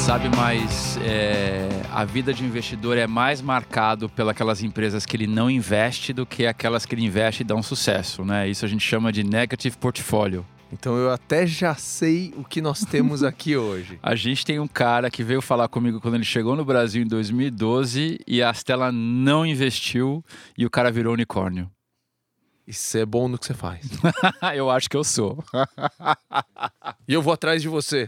sabe, mas a vida de investidor é mais marcado pelas empresas que ele não investe do que aquelas que ele investe e dão sucesso, né? Isso a gente chama de negative portfolio. Então eu até já sei o que nós temos aqui hoje. A gente tem um cara que veio falar comigo quando ele chegou no Brasil em 2012 e a Stella não investiu e o cara virou unicórnio. E você é bom no que você faz. Eu acho que eu sou. E eu vou atrás de você.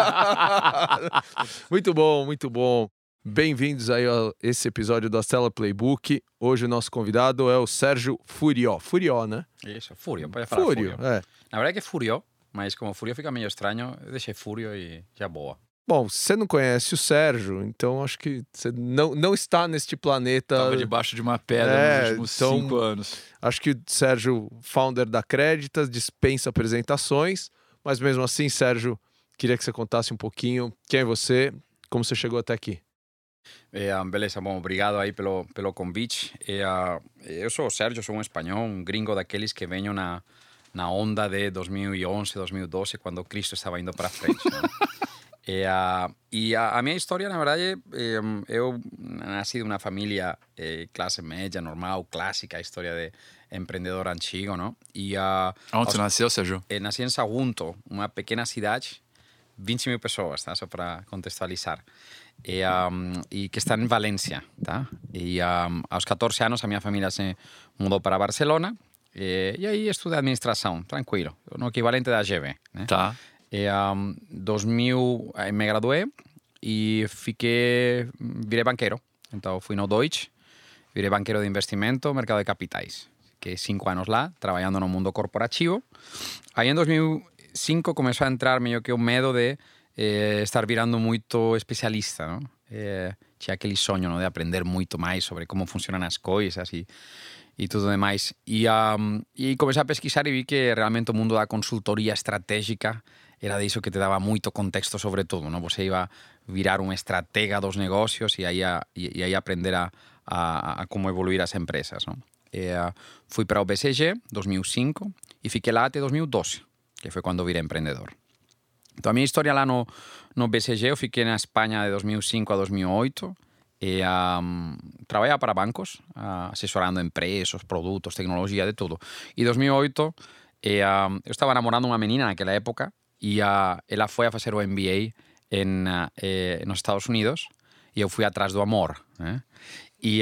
Muito bom, muito bom. Bem-vindos aí a esse episódio do Stella Playbook. Hoje o nosso convidado é o Sérgio Furió. Furió, né? Isso, Furio, pode falar Fúrio, Furio. é. Na verdade é Furio, mas como Furio fica meio estranho, eu deixei Furio e já boa. Bom, você não conhece o Sérgio, então acho que você não está neste planeta. Tava debaixo de uma pedra nos últimos 5 anos. Acho que o Sérgio, founder da Creditas, dispensa apresentações, mas mesmo assim, Sérgio, queria que você contasse um pouquinho quem é você, como você chegou até aqui. Beleza, bom, obrigado aí pelo convite. Eu sou o Sérgio, sou um espanhol, um gringo daqueles que venho na onda de 2011, 2012, quando Cristo estava indo para frente. Né? A minha história, na verdade, eu nasci de uma família classe média, normal, clássica, história de empreendedor antigo, não? Onde você nasceu, Sérgio? Nasci em Sagunto, uma pequena cidade, 20 mil pessoas, tá? Só para contextualizar. E que está em Valência, tá? E aos 14 anos a minha família se mudou para Barcelona e aí estudei administração, tranquilo, no equivalente da GV, né? Tá. Em 2000 me graduei e virei banqueiro. Então fui no Deutsche, virei banqueiro de investimento, mercado de capitais. Fiquei 5 anos lá, trabalhando no mundo corporativo. Aí em 2005 começou a entrar meio que o medo de estar virando muito especialista, não? Tinha aquele sonho, não, de aprender muito mais sobre como funcionam as coisas e tudo demais. E comecei a pesquisar e vi que realmente o mundo da consultoria estratégica era disso que te dava muito contexto sobre tudo, não? Você ia virar um estratega dos negócios e aí aprender a como evoluir as empresas, não? Fui para o BCG, 2005, e fiquei lá até 2012, que foi quando virei empreendedor. Então a minha história lá no BCG, eu fiquei na Espanha de 2005 a 2008, e trabalhava para bancos, assessorando empresas, produtos, tecnologia, de tudo. E em 2008, eu estava namorando uma menina naquela época, e ela foi a fazer o MBA nos Estados Unidos, e eu fui atrás do amor, né? E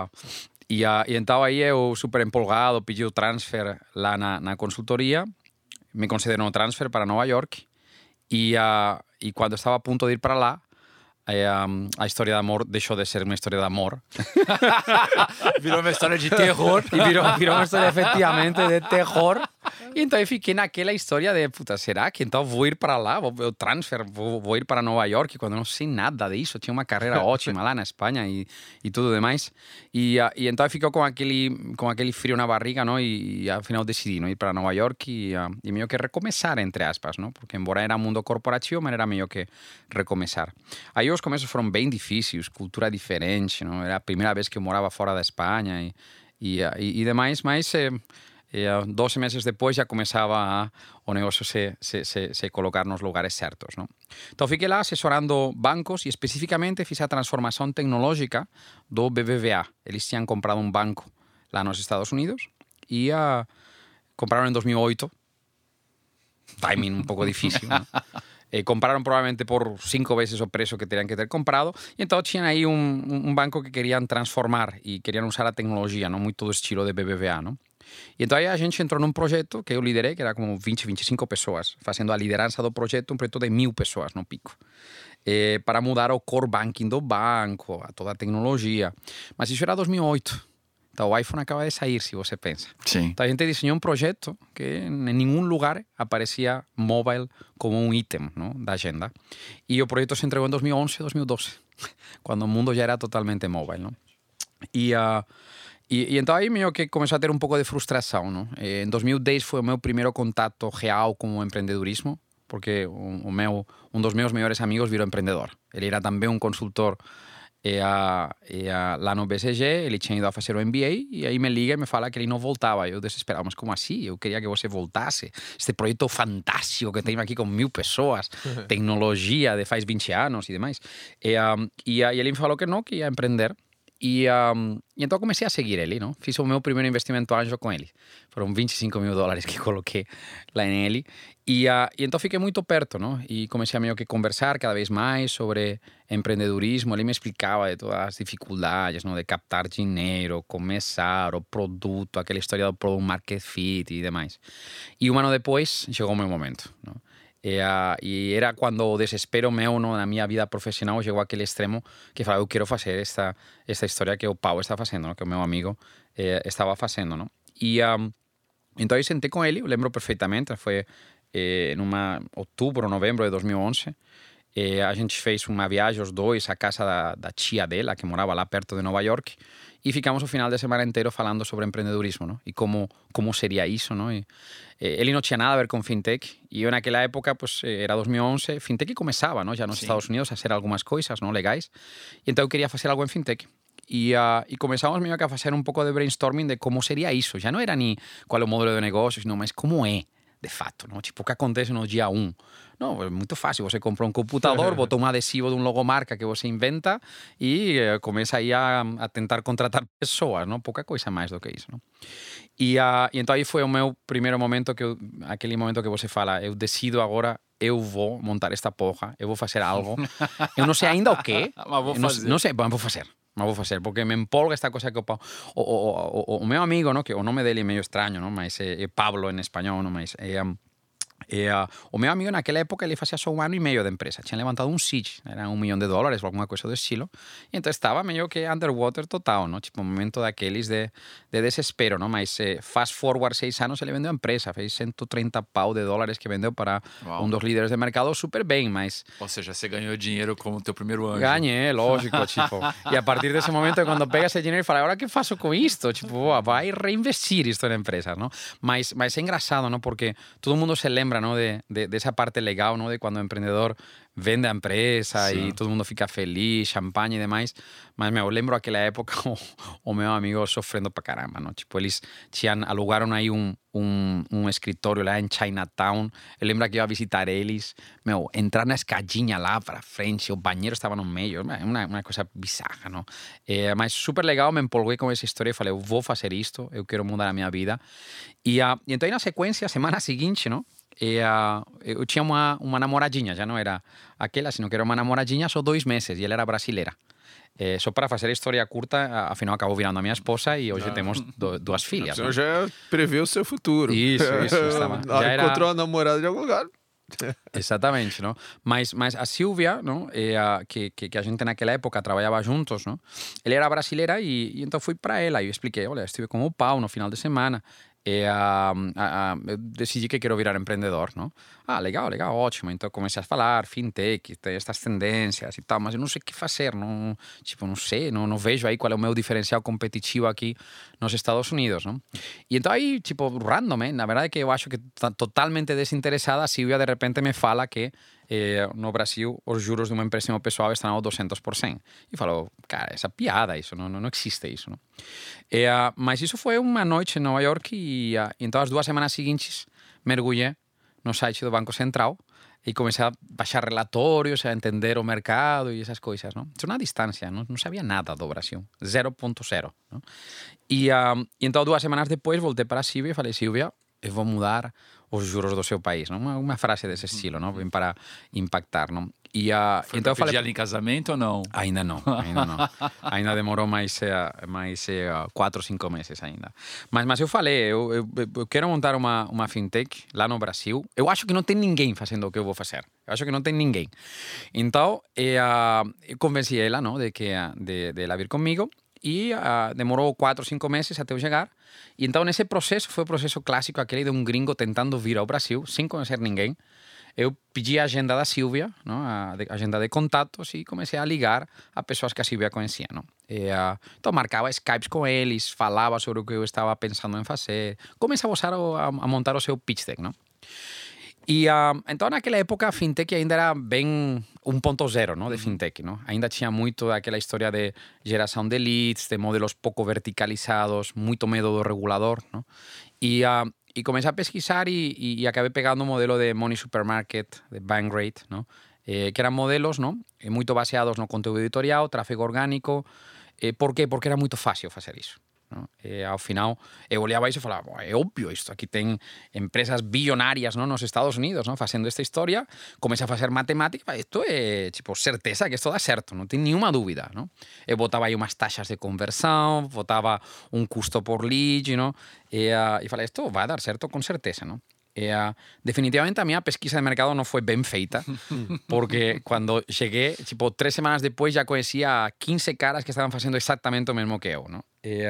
então aí eu, super empolgado, pedi o transfer lá na consultoria, me concederam o transfer para Nova York, e quando estava a ponto de ir para lá, a história de amor deixou de ser uma história de amor. Virou uma história de terror. E virou uma história efetivamente de terror. E então eu fiquei naquela história de, puta, será que então vou ir para lá? Eu transfer, vou ir para Nova York, quando não sei nada disso. Tinha uma carreira ótima lá na Espanha e tudo demais. E então eu fiquei com aquele frio na barriga, não? E afinal decidi, não, ir para Nova York e meio que recomeçar, entre aspas, não? Porque embora era mundo corporativo, mas era meio que recomeçar. Aí os começos foram bem difíceis, cultura diferente, não? Era a primeira vez que eu morava fora da Espanha e demais, mas 12 meses depois já começava o negócio se colocar nos lugares certos, não? Então fiquei lá assessorando bancos e especificamente fiz a transformação tecnológica do BBVA. Eles tinham comprado um banco lá nos Estados Unidos e compraram em 2008. Timing um pouco difícil, não? Compraron probablemente por 5 veces o preço que tenían que ter comprado e então tinham aí um banco que queriam transformar e queriam usar a tecnologia, não muito do estilo de BBVA, não? E então aí a gente entrou num projeto que eu liderei, que era como 20, 25 pessoas, fazendo a liderança do projeto, um projeto de 1000 pessoas no pico, para mudar o core banking do banco, a toda a tecnologia. Mas isso era 2008. Então o iPhone acaba de sair, se você pensa. Sim. Então a gente desenhou um projeto que em nenhum lugar aparecia mobile como um item, não, da agenda. E o projeto se entregou em 2011, 2012, quando o mundo já era totalmente mobile, não? E então aí meio que começou a ter um pouco de frustração, não? Em 2010 foi o meu primeiro contato real com o empreendedorismo, porque um dos meus melhores amigos virou empreendedor. Ele era também um consultor lá no BCG, ele tinha ido a fazer o MBA e aí me liga e me fala que ele não voltava. Eu desesperado, mas como assim? Eu queria que você voltasse. Este projeto fantástico que tenho aqui com 1000 pessoas, tecnologia de faz 20 anos e demais. E aí ele me falou que não, que ia empreender. E então comecei a seguir ele, não? Fiz o meu primeiro investimento anjo com ele. Foram $25 mil que coloquei lá nele. E então fiquei muito perto, não? E comecei a meio que conversar cada vez mais sobre empreendedorismo. Ele me explicava de todas as dificuldades, não? De captar dinheiro, começar, o produto, aquela história do product market fit e demais. E um ano depois chegou o meu momento, não? E era quando o desespero meu, no, na minha vida profissional chegou àquele extremo que falava, eu quero fazer esta história que o Pau está fazendo, não? Que o meu amigo estava fazendo, não? E então eu sentei com ele, eu lembro perfeitamente, foi numa outubro, novembro de 2011. A gente fez uma viagem, os dois, à casa da tia dela, que morava lá perto de Nova York, e ficamos o final de semana inteiro falando sobre empreendedorismo, não? E como seria isso, não? Ele não tinha nada a ver com fintech, e eu naquela época, pues, era 2011, fintech começava, não? Já nos Estados Unidos a fazer algumas coisas, não? Legais, e então eu queria fazer algo em fintech. E começamos meio que a fazer um pouco de brainstorming de como seria isso. Já não era nem qual é o modelo de negócio, não, mas como é, de fato, não? Tipo, o que acontece no dia 1. Não, é muito fácil. Você compra um computador, bota um adesivo de um logomarca que você inventa e começa aí a tentar contratar pessoas, não? Pouca coisa mais do que isso, não? E então aí foi o meu primeiro momento, aquele momento que você fala, eu decido agora, eu vou montar esta porra, eu vou fazer algo. Eu não sei ainda o quê. Mas vou fazer. Não sei, mas vou fazer. Mas vou fazer, porque me empolga esta coisa que o meu amigo, não? Que o nome dele é meio estranho, não? Mas é Pablo em espanhol, não? Mas o meu amigo naquela época ele fazia só 1 ano e meio de empresa, tinha levantado um seed, era $1 milhão ou alguma coisa do estilo, e então estava meio que underwater total, não? Tipo um momento daqueles de desespero, não? Mas fast forward 6 anos ele vendeu a empresa, fez $130 que vendeu para um dos líderes de mercado super bem, mas... Ou seja, você ganhou dinheiro como teu primeiro anjo. Ganhei, lógico, tipo, e a partir desse momento é quando pega esse dinheiro e fala, agora o que faço com isto? Tipo, vai reinvestir isto na empresa, não? Mas é engraçado, não? Porque todo mundo se lembra, ¿no? de esa parte legal, ¿no? De cuando el emprendedor vende a empresa e todo mundo fica feliz, champanhe e demais. Mas, eu lembro aquela época o meu amigo sofrendo pra caramba, não? Tipo, eles alugaram aí um escritório lá em Chinatown. Eu lembro que eu ia visitar eles. Entrar na escadinha lá pra frente, o banheiro estava no meio. Uma coisa bizarra, não? Mas super legal, me empolguei com essa história e falei, eu vou fazer isto, eu quero mudar a minha vida. E então, aí na sequência, semana seguinte, não? Eu tinha uma namoradinha, já não era aquela, sino que era uma namoradinha só 2 meses, e ela era brasileira. Só para fazer a história curta, afinal acabou virando a minha esposa e hoje temos 2 filhas. Você já preveu o seu futuro. Isso. Já encontrou a namorada de algum lugar. Exatamente, não? Mas a Silvia, não? Que a gente naquela época trabalhava juntos, não? Ela era brasileira e então fui para ela e eu expliquei, olha, estive com o Pau no final de semana. Eu decidi que quero virar empreendedor, não? Legal, ótimo. Então comecei a falar, fintech, tem estas tendências e tal, mas eu não sei o que fazer, não, tipo, não sei, não vejo aí qual é o meu diferencial competitivo aqui nos Estados Unidos, não? E então aí, tipo, random, na verdade é que eu acho que totalmente desinteressada, a Silvia de repente me fala que no Brasil os juros de um empréstimo pessoal estão ao 200%. E falo, cara, essa piada, isso não existe isso, não? Mas isso foi uma noite em Nova York e então as 2 semanas seguintes mergulhei no site do Banco Central e comecei a baixar relatórios, a entender o mercado e essas coisas, não? Isso na distância, não sabia nada do Brasil, 0.0, não? E então 2 semanas depois voltei para a Silvia e falei, Silvia, eu vou mudar os juros do seu país, não? Uma frase desse estilo, não? Bem para impactar, não? Foi então eu falei, ela em casamento ou não? Ainda não. Ainda demorou mais 4 ou 5 meses ainda. Mas eu falei, eu quero montar uma fintech lá no Brasil. Eu acho que não tem ninguém fazendo o que eu vou fazer. Eu acho que não tem ninguém. Então, eu convenci ela, não? De ela vir comigo. E demorou 4 ou 5 meses até eu chegar. E então, nesse processo, foi o processo clássico, aquele de um gringo tentando vir ao Brasil, sem conhecer ninguém. Eu pedi a agenda da Silvia, não? A agenda de contatos, e comecei a ligar a pessoas que a Silvia conhecia, não? Então, marcava Skypes com eles, falava sobre o que eu estava pensando em fazer, começava a montar o seu pitch deck, não? E então, naquela época, a fintech ainda era bem 1.0, não, de fintech. Não? Ainda tinha muito daquela história de geração de leads, de modelos pouco verticalizados, muito medo do regulador. Não? E comecei a pesquisar e acabei pegando um modelo de Money Supermarket, de Bankrate, não? Que eram modelos, não? Muito baseados no conteúdo editorial, tráfego orgânico. Por quê? Porque era muito fácil fazer isso. Não? Ao final, eu olhava isso e falava, é óbvio isto, aqui tem empresas bilionárias, não, nos Estados Unidos, não, fazendo esta história. Comecei a fazer matemática, isto é, tipo, certeza que isto dá certo, não tem nenhuma dúvida, não? Eu botava aí umas taxas de conversão, botava um custo por lead, não? E falei, isto vai dar certo com certeza, não? Definitivamente a minha pesquisa de mercado não foi bem feita, porque quando cheguei, tipo, 3 semanas depois já conhecia 15 caras que estavam fazendo exatamente o mesmo que eu, não?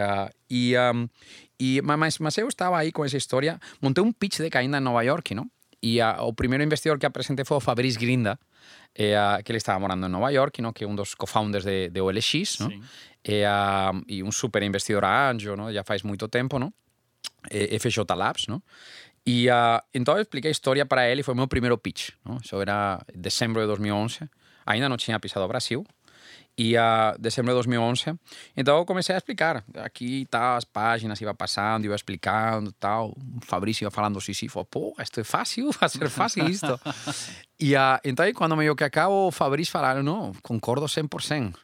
Mas eu estava aí com essa história, montei um pitch deck ainda em Nova York, não? E o primeiro investidor que apresentei foi o Fabrice Grinda, que ele estava morando em Nova York, não? Que é um dos co-founders de OLX, não? E um super investidor anjo, não? Já faz muito tempo, não? FJ Labs, não? E então eu expliquei a história para ele, foi o meu primeiro pitch, não? Isso era dezembro de 2011, ainda não tinha pisado o Brasil, e dezembro de 2011, então eu comecei a explicar, aqui tá, as páginas, ia passando, ia explicando, tal, o Fabrício ia falando sim, falou, pô, isto é fácil, vai ser fácil isto. E então aí, quando meio que acabo, o Fabrício falaram, não, concordo 100%.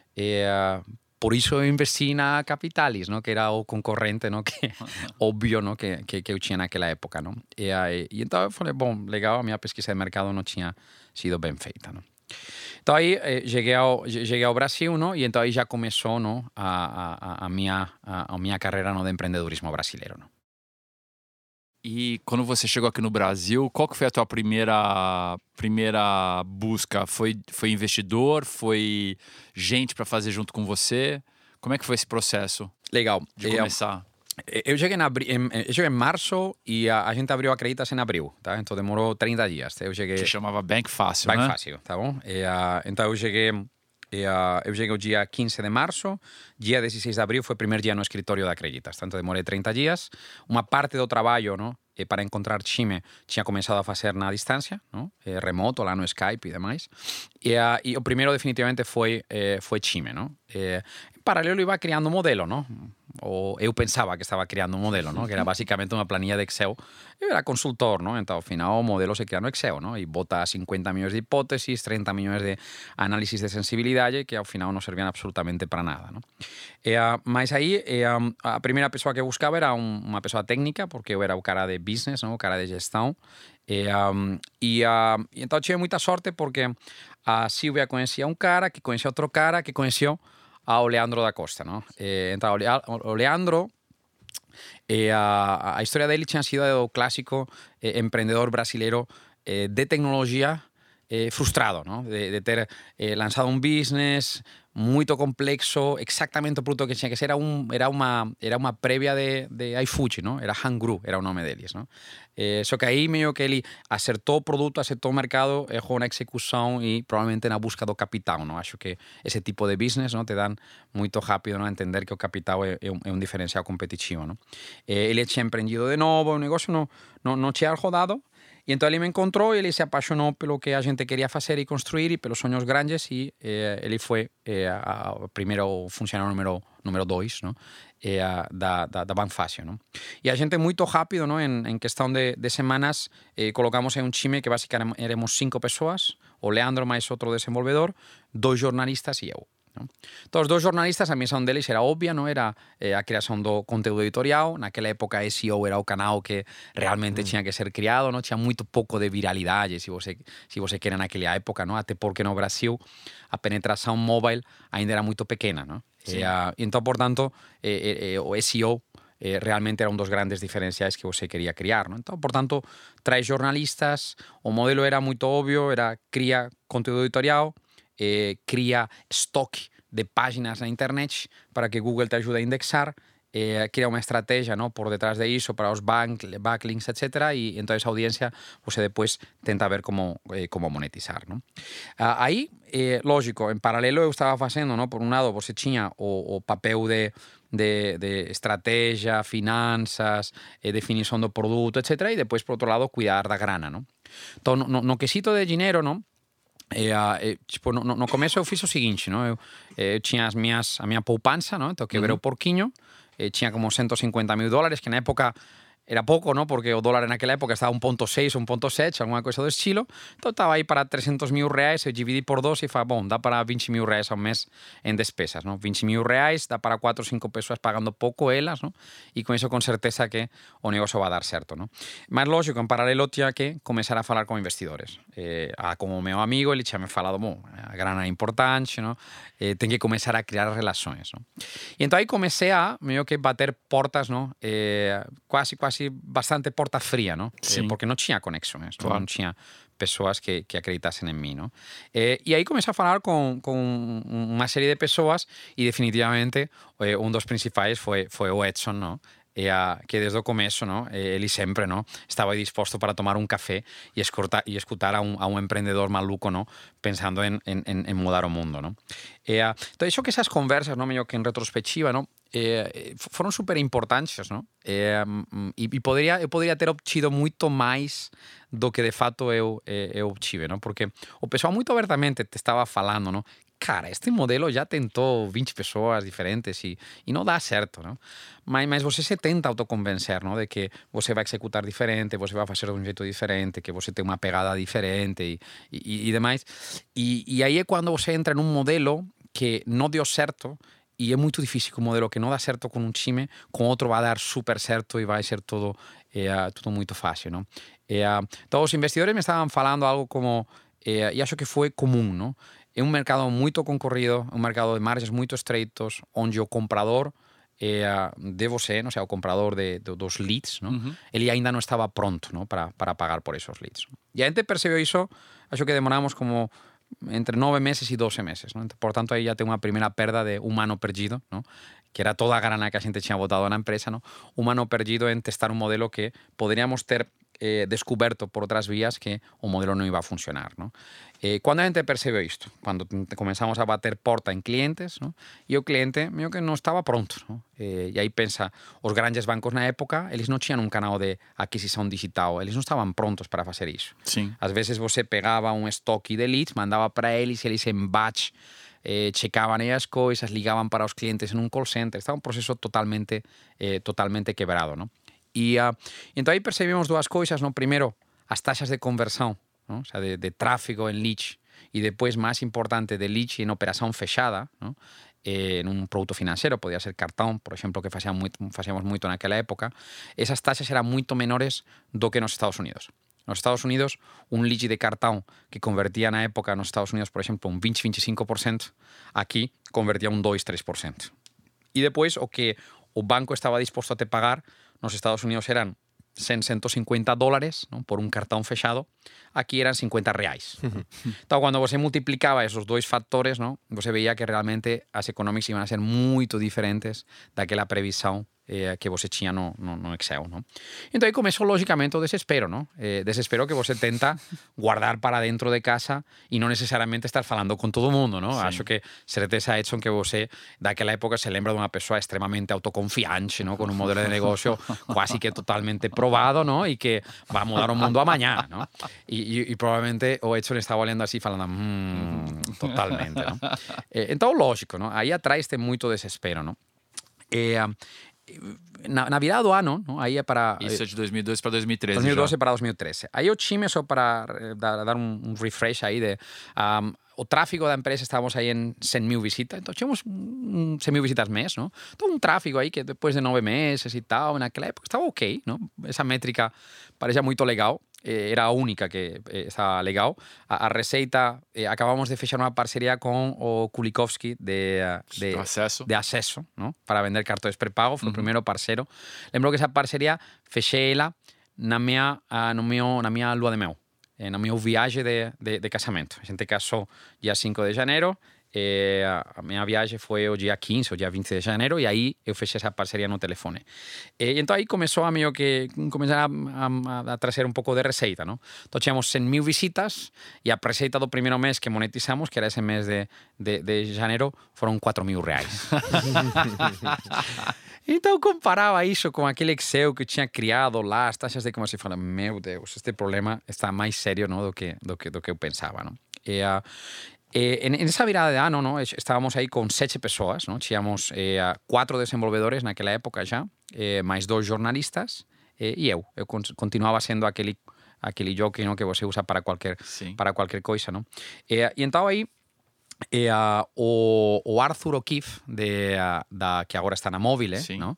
Por isso eu investi na Capitalis, não? Que era o concorrente, não? Que óbvio, não? Que eu tinha naquela época, não? E então eu falei, bom, legal, a minha pesquisa de mercado não tinha sido bem feita, não? Então aí cheguei ao Brasil, não? E então aí já começou, não? A minha carreira no de empreendedorismo brasileiro, não? E quando você chegou aqui no Brasil, qual que foi a tua primeira busca? Foi investidor? Foi gente para fazer junto com você? Como é que foi esse processo? Legal. De começar? Eu cheguei em março e a gente abriu a Creditas em abril, tá? Então demorou 30 dias. Eu cheguei... Que chamava Bank Fácil, Bank né? Fácil, tá bom? Então eu cheguei o dia 15 de março, dia 16 de abril foi o primeiro dia no escritório da Creditas, tanto demorei 30 dias. Uma parte do trabalho, não, para encontrar time tinha começado a fazer na distância, não? Remoto, lá no Skype e demais. E o primeiro definitivamente foi time, não? Em paralelo iba criando um modelo, não? Ou eu pensava que estava criando um modelo, não? Que era basicamente uma planilha de Excel. Eu era consultor, não? Então, ao final, o modelo se cria no Excel, não? E bota 50 milhões de hipótesis, 30 milhões de análisis de sensibilidade, que ao final não serviam absolutamente para nada, não? Mas aí, a primeira pessoa que eu buscava era uma pessoa técnica, porque eu era o cara de business, não? O cara de gestão. Então, tive muita sorte, porque a Silvia conhecia um cara, que conhecia outro cara, que conheceu ao Leandro da Costa, não? Então, o Leandro, a história dele tinha sido o clássico empreendedor brasileiro de tecnologia frustrado, não? De ter lançado um business muito complexo, exatamente o produto que tinha que ser, era uma prévia de iFood, não? Era Hangru, era o nome deles, não? Só que aí meio que ele acertou o produto, acertou o mercado, errou na execução e provavelmente na busca do capital, não? Acho que esse tipo de business, não, te dan muito rápido, não, a entender que o capital é um diferencial competitivo, não? Ele tinha empreendido de novo, o negócio não tinha rodado. E então ele me encontrou e ele se apaixonou pelo que a gente queria fazer e construir e pelos sonhos grandes e ele foi o primeiro funcionário número 2, não? Da Banfácil, não? E a gente muito rápido, não? Em questão de semanas colocamos em um time que basicamente éramos 5 pessoas, o Leandro mais outro desenvolvedor, 2 jornalistas e eu. Não? Então, os 2 jornalistas, a missão deles era óbvia, não? Era a criação do conteúdo editorial. Naquela época, SEO era o canal que realmente tinha que ser criado, não? Tinha muito pouco de viralidade, se você quer, naquela época, não? Até porque no Brasil a penetração mobile ainda era muito pequena, não? Então, portanto, o SEO realmente era um dos grandes diferenciais que você queria criar, não? Então, portanto, 3 jornalistas, o modelo era muito óbvio, era cria conteúdo editorial, cria estoque de páginas na internet para que Google te ajude a indexar, cria uma estratégia, não, por detrás de isso para os backlinks, etc. E então essa audiência você depois tenta ver como monetizar, não? Aí, lógico, em paralelo eu estava fazendo, não, por um lado você tinha o papel de estrategia, finanças, definição do produto, etc. E depois, por outro lado, cuidar da grana, não? Então, no quesito de dinheiro, não? Tipo, no começo eu fiz o seguinte, não? Eu tinha a minha poupança, não? Então, quebrei o porquinho, tinha como $150.000, que na época era pouco, ¿no? Porque o dólar naquela época estaba 1.6, 1.7, alguma coisa do estilo. Então estava aí para $300.000, eu dividi por 2 e falei, bom, dá para $20.000 ao mês em despesas, ¿no? $20.000, dá para 4 ou 5 pessoas pagando pouco elas, ¿no? E com isso, com certeza que o negócio vai dar certo, ¿no? Mas, lógico, en paralelo tinha que começar a falar com investidores. Como meu amigo, ele tinha me falado, bom, a grana é importante, ¿no? Tem que começar a criar relações, ¿no? E então aí comecei a meio que bater portas, ¿no? Quase bastante porta fria, ¿no? Porque não tinha conexões, claro. Não tinha pessoas que acreditassem em mim, ¿no? E aí comecei a falar com uma série de pessoas e definitivamente dos principais foi o Edson, ¿no? Que desde o começo, ¿no? Ele sempre, ¿no? Estava disposto para tomar um café e escutar a um empreendedor maluco, ¿no? Pensando en mudar o mundo, ¿no? Então, isso que essas conversas, ¿no? Meio que em retrospectiva, ¿no? Foram super importantes, não? E eu poderia ter obtido muito mais do que de fato eu obtive, não? Porque o pessoal muito abertamente te estava falando, não? Cara, este modelo já tentou 20 pessoas diferentes e não dá certo, não? Mas você se tenta autoconvencer, não? De que você vai executar diferente, você vai fazer de um jeito diferente, que você tem uma pegada diferente e demais. E aí é quando você entra num modelo que não deu certo. E é muito difícil que um modelo que não dá certo com um time, com outro vai dar super certo e vai ser tudo muito fácil, não? Então, os investidores me estavam falando algo como, e acho que foi comum, não? É um mercado muito concorrido, um mercado de margens muito estreitos, onde o comprador de você, não sei, o comprador dos leads, não? Ele ainda não estava pronto, não? Para pagar por esses leads. E a gente percebeu isso, acho que demoramos como entre 9 meses e 12 meses, ¿no? Por tanto, aí já tem uma primeira perda de humano perdido, ¿no? Que era toda a grana que a gente tinha botado na empresa, ¿no? Humano perdido en testar un modelo que poderíamos ter descoberto por outras vías que o modelo não ia funcionar, ¿no? Quando a gente percebeu isto? Quando começamos a bater porta em clientes, ¿no? E o cliente meio que não estava pronto, ¿no? E aí pensa, os grandes bancos na época, eles não tinham um canal de aquisição digital, eles não estavam prontos para fazer isso. Sim. Às vezes você pegava um estoque de leads, mandava para eles em batch checavam aí as coisas, ligavam para os clientes em um call center, estava um processo totalmente quebrado, ¿no? E então aí percebemos duas coisas, ¿no? Primeiro, as taxas de conversão, ¿no? O sea, de tráfego en leads e depois, mais importante, de leads en operação fechada, ¿no? En un produto financeiro, podía ser cartón, por exemplo, que facíamos moito naquela época, esas taxas eran moito menores do que nos Estados Unidos. Nos Estados Unidos, un lead de cartón que convertía na época nos Estados Unidos, por exemplo, un 20-25%, aquí convertía un 2-3%. E depois, o que o banco estaba disposto a te pagar nos Estados Unidos eran $100-$150, ¿no? Por un cartón fechado, aquí eran $50. Então, quando você multiplicava esos dois fatores, ¿no? Você veía que realmente as economics iban a ser muito diferentes daquela previsão que você tinha no Excel, ¿no? Então aí começou logicamente o desespero, ¿no? Desespero que você tenta guardar para dentro de casa e não necessariamente estar falando com todo mundo, ¿no? Acho que certeza, Edson, que você daquela época se lembra de uma pessoa extremamente autoconfiante, ¿no? Com um modelo de negocio quase que totalmente probado, ¿no? E que vai mudar o mundo amanhã, ¿no? E provavelmente o Edson estava olhando assim falando totalmente, ¿no? Então, lógico, ¿no? Aí atrás tem muito desespero, ¿no? Na virada do ano, não? Aí é para... Isso é de 2012 para 2013. 2012 já. para 2013. Aí o time, só para dar um refresh aí, o tráfego da empresa, estávamos aí em 100.000 visitas, então tínhamos 100.000 visitas mês, não? Então um tráfego aí que depois de 9 meses e tal, naquela época estava ok, não? Essa métrica parecia muito legal. Era a única que estava legal. A receita, acabamos de fechar uma parceria com o Kulikovski de acesso, não? Para vender cartões pré-pago, foi o primeiro parceiro. Lembro que essa parceria fechei ela na minha lua de mel, no meu viagem de casamento. A gente casou dia 5 de janeiro, a minha viagem foi o dia 15 ou dia 20 de janeiro e aí eu fechei essa parceria no telefone. E então aí começou a meio que começar a trazer um pouco de receita, não? Então tínhamos 100.000 visitas e a receita do primeiro mês que monetizamos, que era esse mês de janeiro, foram 4.000 reais. Então comparava isso com aquele Excel que eu tinha criado lá, as taxas de conversão, e falava, meu Deus, este problema está mais sério, não, do que eu pensava, não? En esa virada de ano, ¿no? Estábamos aí com 7 pessoas, ¿no? Tínhamos 4 desenvolvedores naquela época já, mais 2 jornalistas e eu. Eu continuava sendo aquele jockey, ¿no? Que você usa para qualquer coisa, ¿no? E então aí o Arthur O'Keefe, que agora está na Mobile, ¿no?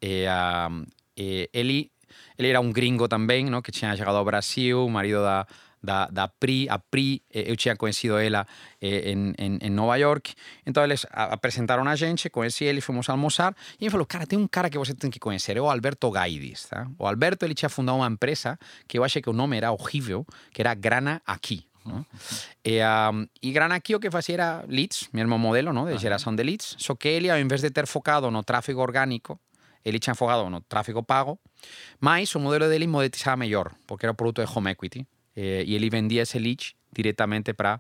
Ele era um gringo também, ¿no? Que tinha chegado ao Brasil, marido da Pri. A Pri, eu tinha conhecido ela em Nova York. Então eles apresentaram a gente, conheci ele, fomos almoçar. E ele falou, cara, tem um cara que você tem que conhecer, é o Alberto Gaidis, tá? O Alberto, ele tinha fundado uma empresa que eu achei que o nome era horrível, que era Grana Aqui. ¿No? E Grana Aqui o que fazia era leads, mesmo modelo, ¿no? De geração de leads, só que ele, ao invés de ter focado no tráfego orgânico, ele tinha focado no tráfego pago, mas o modelo dele monetizava melhor, porque era o produto de home equity. E ele vendia esse lead diretamente para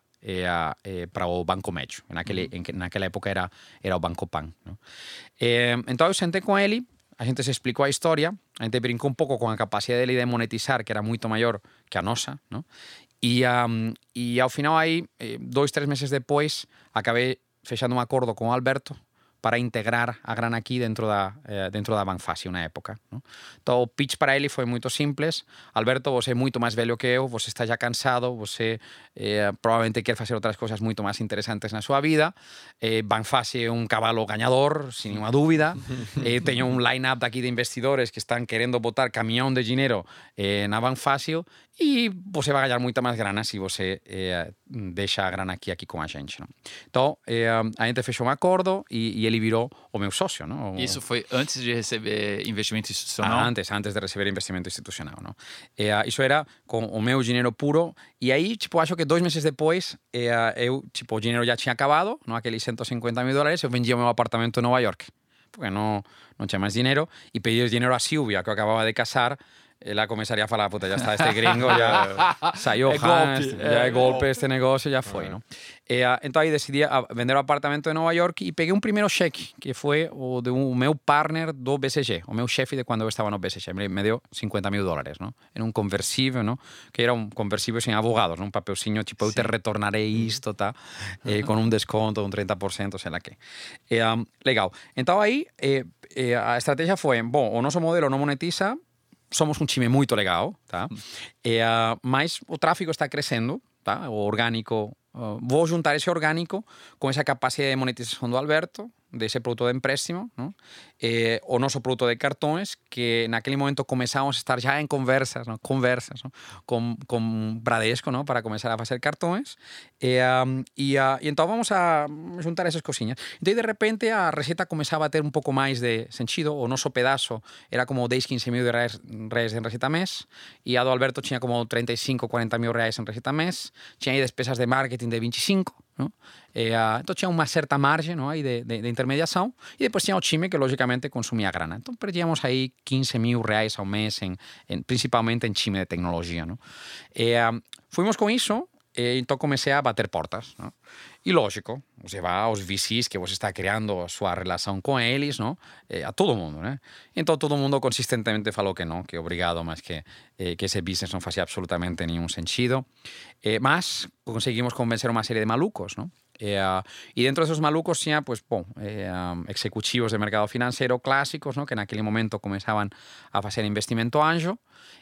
o Banco Médio. Naquela época era o Banco Pan. ¿No? Então eu sentei com ele, a gente se explicou a história, a gente brincou um pouco com a capacidade dele de monetizar, que era muito maior que a nossa, ¿no? E ao final aí, 2-3 meses depois, acabei fechando um acordo com o Alberto para integrar a Grana Aqui dentro da Banfácil na época, ¿no? Então o pitch para ele foi muito simples. Alberto, você é muito mais velho que eu, você está já cansado, você provavelmente quer fazer outras coisas muito mais interessantes na sua vida. Banfácil é um cavalo ganhador, sem nenhuma dúvida. Tenho um line-up aqui de investidores que estão querendo botar caminhão de dinheiro na Banfácil e você vai ganhar muita mais grana se você deixa a Grana aqui com a gente, não? Então a gente fechou um acordo e ele virou o meu sócio, não? Isso foi antes de receber investimento institucional? Antes de receber investimento institucional, não? Isso era com o meu dinheiro puro e aí, tipo, acho que 2 meses depois eu, tipo, o dinheiro já tinha acabado, não? Aqueles $150.000, eu vendia o meu apartamento em Nova York, porque não tinha mais dinheiro e pedi o dinheiro a Silvia, que eu acabava de casar. Ela começaria a falar, puta, já está este gringo, já saiu já é golpe este negócio, já foi, não? Então aí decidi vender o apartamento em Nova York e peguei um primeiro cheque, que foi o meu partner do BCG, o meu chefe de quando eu estava no BCG, me deu $50.000, não? Era um conversível, não? Que era um conversível sem advogados, não? Um papelzinho, tipo, eu te retornarei isto, tá? Com um desconto, um 30%, sei lá que. Legal. Então aí a estratégia foi, bom, o nosso modelo não monetiza, somos um time muito legal, tá? Mas o tráfego está crescendo, tá? O orgânico, vou juntar esse orgânico com essa capacidade de monetização do Alberto, desse produto de empréstimo, ¿no? O nosso produto de cartões, que naquele momento começamos a estar já em conversas, ¿no? Com Bradesco, ¿no? Para começar a fazer cartões. Então vamos a juntar essas coisinhas. Então, de repente, a receita começava a ter um pouco mais de sentido. O nosso pedaço era como 10-15 mil reais em receita mês, e a do Alberto tinha como 35-40 mil reais em receita mês. Tinha aí despesas de marketing de 25, ¿no? Então tinha uma certa margem, ¿no? Aí de intermediação, e depois tinha o time que logicamente consumia grana. Então perdíamos aí 15 mil reais ao mês, principalmente em time de tecnologia, ¿no? Fomos com isso, então comecei a bater portas, ¿no? E lógico, você vai aos VCs que você está criando a sua relação com eles, ¿no? A todo mundo, né? Então todo mundo consistentemente falou que não, que obrigado, mas que esse business não fazia absolutamente nenhum sentido. Mas conseguimos convencer uma série de malucos, ¿no? Y dentro de esos malucos tinha, pues, executivos de mercado financeiro clásicos, ¿no? Que naquele momento começavam a fazer investimento anjo.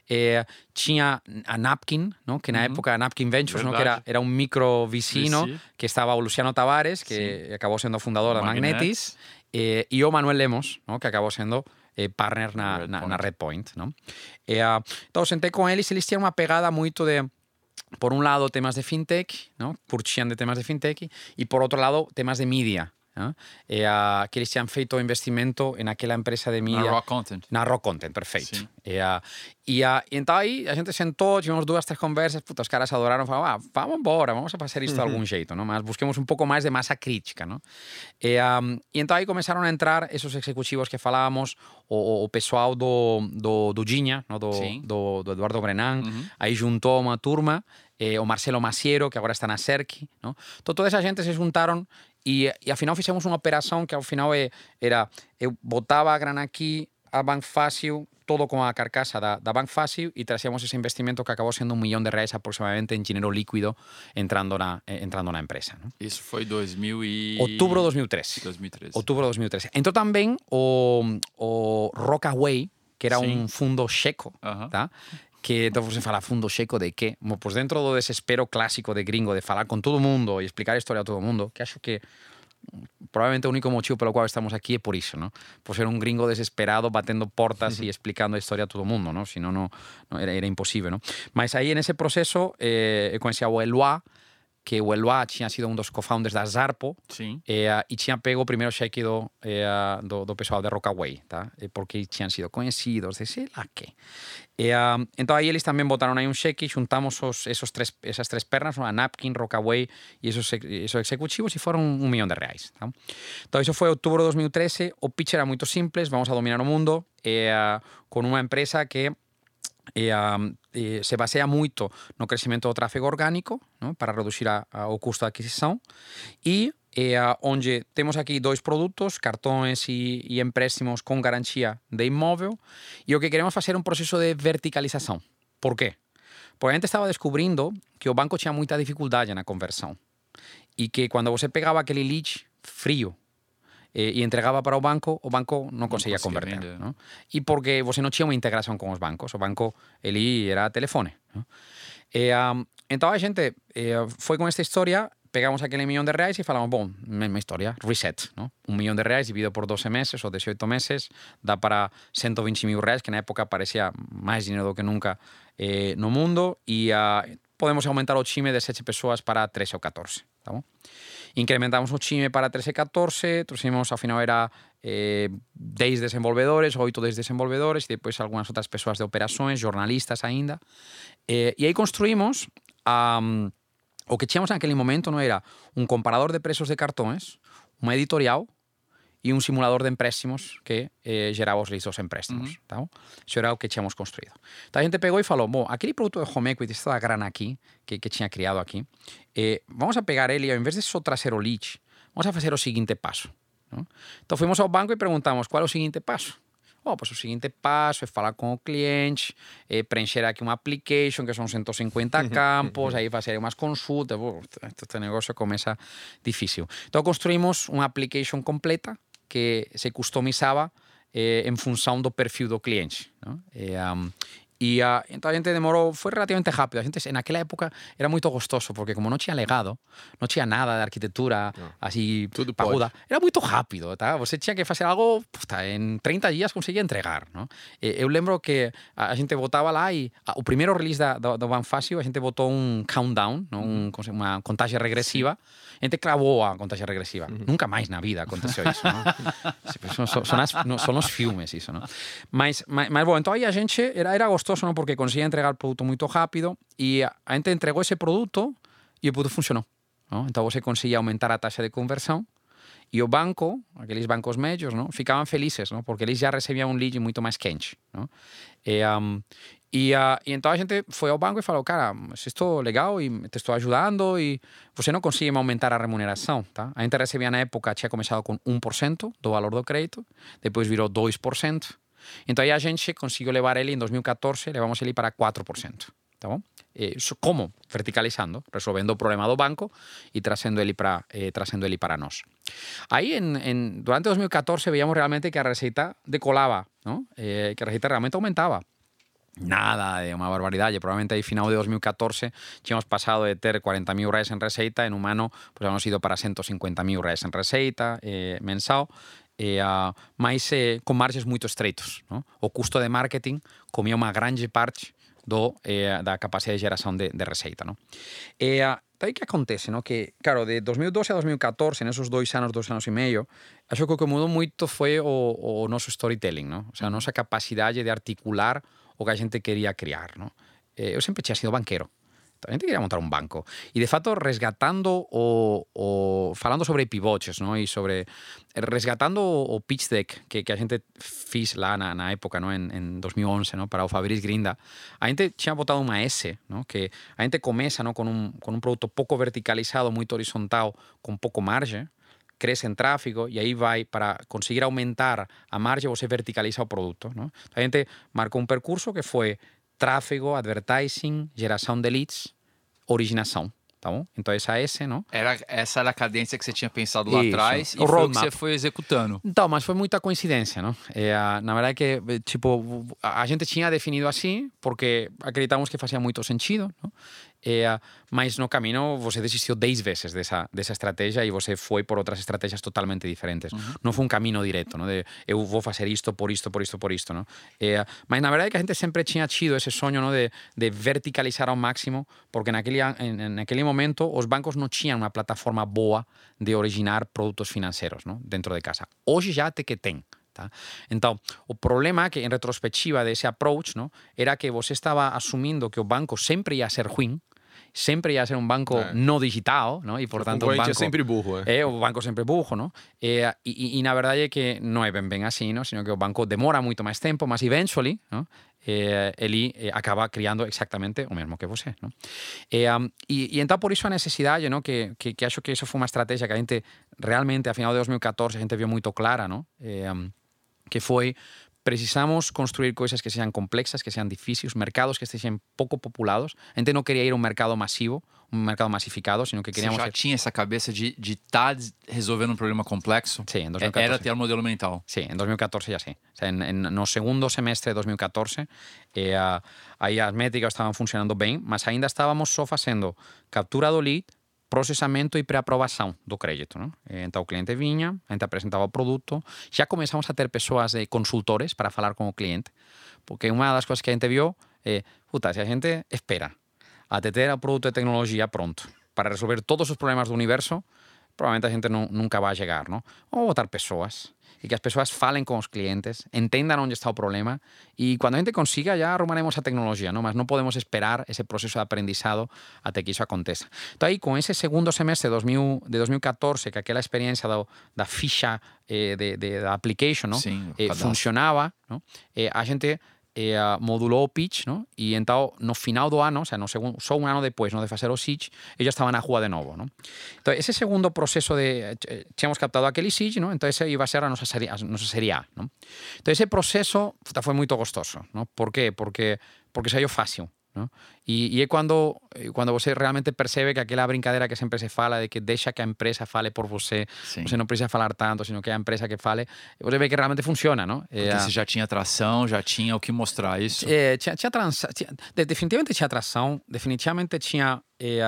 Tinha a Napkin, ¿no? Que na época a Napkin Ventures, ¿no? Que era um micro VC, ¿no? Que estava o Luciano Tavares, que acabou sendo fundador da Magnetis, e o Manuel Lemos, ¿no? Que acabou sendo partner na Redpoint, ¿no? Então sentei com eles tinham uma pegada muito de, por un lado, temas de fintech, ¿no? Curtían de temas de fintech, y por otro lado, temas de media, que eles tinham feito o investimento naquela empresa de mídia. Na Rock Content. Na Rock Content, perfeito. Sim. Então aí a gente sentou, tivemos 2, 3 conversas, os caras adoraram, falaram, vamos embora, vamos a fazer isto de algum jeito, não? Mas busquemos um pouco mais de massa crítica, não? E então aí começaram a entrar esses executivos que falávamos, o pessoal do Ginha, não? do Eduardo Brenan, aí juntou uma turma, o Marcelo Maciero, que agora está na Cerqui, não? Então toda essa gente se juntaram e afinal fizemos uma operação que ao final era, eu botava a grana aqui, a Banco Fácil, todo com a carcassa da Banco Fácil e trazíamos ese investimento que acabou sendo $1 millón aproximadamente en dinheiro líquido entrando na empresa. ¿No? Isso foi Outubro de 2013. Outubro de 2013. Entrou também o Rockaway, que era un fundo checo, tá? Que então você fala, fundo checo de quê? Bom, pues dentro do desespero clásico de gringo, de falar con todo mundo e explicar a historia a todo mundo, que acho que probablemente o único motivo pelo cual estamos aquí é por iso, ¿no? Por ser un gringo desesperado batendo portas e explicando a historia a todo mundo, ¿no? Si no, era imposible, ¿no? Mas aí, en ese proceso, conheci o Eloy, que o Eloy tinha sido un dos co-founders da Zarpo e tinha pego o primeiro cheque do pessoal de Rockaway, tá? Porque tinham sido conhecidos, de sei lá que. Então aí eles também botaram aí um cheque, juntamos essas três pernas, a Napkin, Rockaway e esos executivos e foram $1 millón. Tá? Então isso foi outubro de 2013, o pitch era muito simples, vamos a dominar o mundo com uma empresa que se baseia muito no crescimento do tráfego orgânico, não? Para reduzir o custo de aquisição e onde temos aqui 2 produtos, cartões e empréstimos com garantia de imóvel e o que queremos fazer é um processo de verticalização. Por quê? Porque a gente estava descobrindo que o banco tinha muita dificuldade na conversão e que quando você pegava aquele lead frio e entregava para o banco não conseguia converter. Não? E porque você não tinha uma integração com os bancos. O banco, ele era telefone. Não? Então a gente foi com esta história, pegamos aquele $1 millón e falamos, bom, mesma história, reset. Não? $1 millón dividido por 12 meses ou 18 meses dá para R$120.000, que na época parecia mais dinheiro do que nunca no mundo, e podemos aumentar o time de 7 pessoas para 13 ou 14. Tá bom? Incrementamos o time para 13 e 14, trouxemos, ao final era 10 desenvolvedores, 8 10 desenvolvedores, e depois algumas outras pessoas de operações, jornalistas ainda. E aí construímos o que tínhamos naquele momento, não era um comparador de preços de cartões, uma editorial e um simulador de empréstimos que gerava os leads dos empréstimos. Tá? Isso era o que tínhamos construído. Então a gente pegou e falou, bom, aquele produto de home equity, esta grana aqui, que tinha criado aqui, vamos a pegar ele e ao invés de só trazer o lead, vamos a fazer o seguinte passo. Não? Então fomos ao banco e perguntamos, qual é o seguinte passo? Pues o seguinte passo é falar com o cliente, preencher aqui uma application, que são 150 campos, aí fazer umas consultas, este negócio começa difícil. Então construímos uma application completa que se customizava em função do perfil do cliente. Não? Então a gente demorou, foi relativamente rápido. A gente, naquela época era muito gostoso, porque como não tinha legado, não tinha nada de arquitetura assim paguda, era muito rápido, tá? Você tinha que fazer algo, em 30 dias conseguia entregar, não? Eu lembro que a gente botava lá e o primeiro release do Banco Fácil, a gente botou um countdown, não? Uma contagem regressiva. A gente cravou a contagem regressiva. Nunca mais na vida aconteceu isso, não? São os filmes isso, não? Mas bom, então aí a gente era gostoso, ¿no? Porque conseguía entregar o produto muito rápido e a gente entregou esse produto e o produto funcionou. ¿No? Então você conseguia aumentar a taxa de conversão e o banco, aqueles bancos médios, ¿no? Ficavam felizes, ¿no? Porque eles já recebiam um lead muito mais quente. ¿No? E então a gente foi ao banco e falou, cara, isto é legal e te estou ajudando e você não consegue aumentar a remuneração, tá? A gente recebia na época, tinha começado com 1% do valor do crédito, depois virou 2%. Então aí a gente conseguiu levar ele em 2014, levamos ele para 4%. Tá bom? Como? Verticalizando, resolvendo o problema do banco e trazendo ele para nós. Aí, durante 2014, veíamos realmente que a receita decolava, ¿no? Que a receita realmente aumentava. Nada de uma barbaridade. Probablemente aí, final de 2014, tínhamos passado de ter R$40.000 en receita, en un ano, pues hemos ido para R$150.000 en receita mensal, mas com margens muito estreitos. ¿No? O custo de marketing comia uma grande parte da capacidade de geração de receita. ¿No? Daí que acontece, ¿no? Que, claro, de 2012 a 2014, nesses 2 anos e meio, acho que o que mudou muito foi o nosso storytelling, não? Ou seja, a nossa capacidade de articular o que a gente queria criar, não? Eu sempre tinha sido banqueiro. A gente queria montar un banco. E, de fato, resgatando falando sobre pivotes, ¿no? E sobre resgatando o pitch deck que a gente fiz lá na época, ¿no? En 2011, ¿no? Para o Fabrice Grinda, a gente tinha botado uma S, ¿no? Que a gente começa, ¿no? con un produto pouco verticalizado, muito horizontal, com pouco margem, cresce em tráfego e aí vai para conseguir aumentar a margem, você verticaliza o produto, ¿no? A gente marcou um percurso que foi tráfego, advertising, geração de leads, originação, tá bom? Então essa S, não? Essa era a cadência que você tinha pensado lá atrás e o foi o que você foi executando. Então, mas foi muita coincidência, não? Na verdade que, tipo, a gente tinha definido assim porque acreditamos que fazia muito sentido, não? Mas no caminho você desistiu 10 vezes dessa estratégia e você foi por outras estratégias totalmente diferentes. Não foi um caminho direto, não? De eu vou fazer isto por isto, não? Mas na verdade que a gente sempre tinha tido esse sonho, não? De verticalizar ao máximo, porque naquele momento os bancos não tinham uma plataforma boa de originar produtos financeiros, não? Dentro de casa. Hoje já até que tem. Tá? Então, o problema que, em retrospectiva desse approach, não, era que você estava assumindo que o banco sempre ia ser ruim, sempre ia ser um banco não digital, não? E, portanto, o banco é sempre burro. O banco sempre burro, não? E na verdade é que não é bem assim, não? Sino que o banco demora muito mais tempo, mas eventually, não? Ele acaba criando exatamente o mesmo que você, não? E então por isso a necessidade, não? Que acho que isso foi uma estratégia que a gente realmente, a final de 2014, a gente viu muito clara, não? Que foi precisamos construir coisas que sejam complexas, que sejam difíceis, mercados que estejam pouco populados. A gente não queria ir a um mercado massivo, um mercado massificado, sino que queríamos... Você já tinha essa cabeça de estar resolvendo um problema complexo? Sim, em 2014. Era ter um modelo mental? Sim, em 2014 já sim. O sea, no segundo semestre de 2014, aí as métricas estavam funcionando bem, mas ainda estávamos só fazendo captura do lead, processamento e pré-aprovação do crédito, não? Então o cliente vinha, a gente apresentava o produto, já começamos a ter pessoas consultores para falar com o cliente, porque uma das coisas que a gente viu é, se a gente espera até ter o produto de tecnologia pronto para resolver todos os problemas do universo, provavelmente a gente nunca vai chegar, não? Vamos botar pessoas e que as pessoas falem com os clientes, entendam onde está o problema e quando a gente consiga já arrumaremos a tecnologia, não? Mas não podemos esperar esse processo de aprendizado até que isso aconteça. Então aí com esse segundo semestre de 2014, que aquela experiência da ficha da application, não? Sim, funcionava, não? A gente modulou o pitch, não? E então no final do ano, ou seja, só um ano depois, não, de fazer o siege, eu já estava na rua de novo, não? Então esse segundo processo tínhamos captado aquele siege, não? Então esse ia ser a nossa série A, não? Então esse processo foi muito gostoso, não? Por quê? Porque saiu fácil, não? E é quando você realmente percebe que aquela brincadeira que sempre se fala de que deixa que a empresa fale por você, Sim. Você não precisa falar tanto, sino que é a empresa que fale, você vê que realmente funciona, não? Porque você já tinha atração, já tinha o que mostrar isso? Definitivamente tinha atração, definitivamente tinha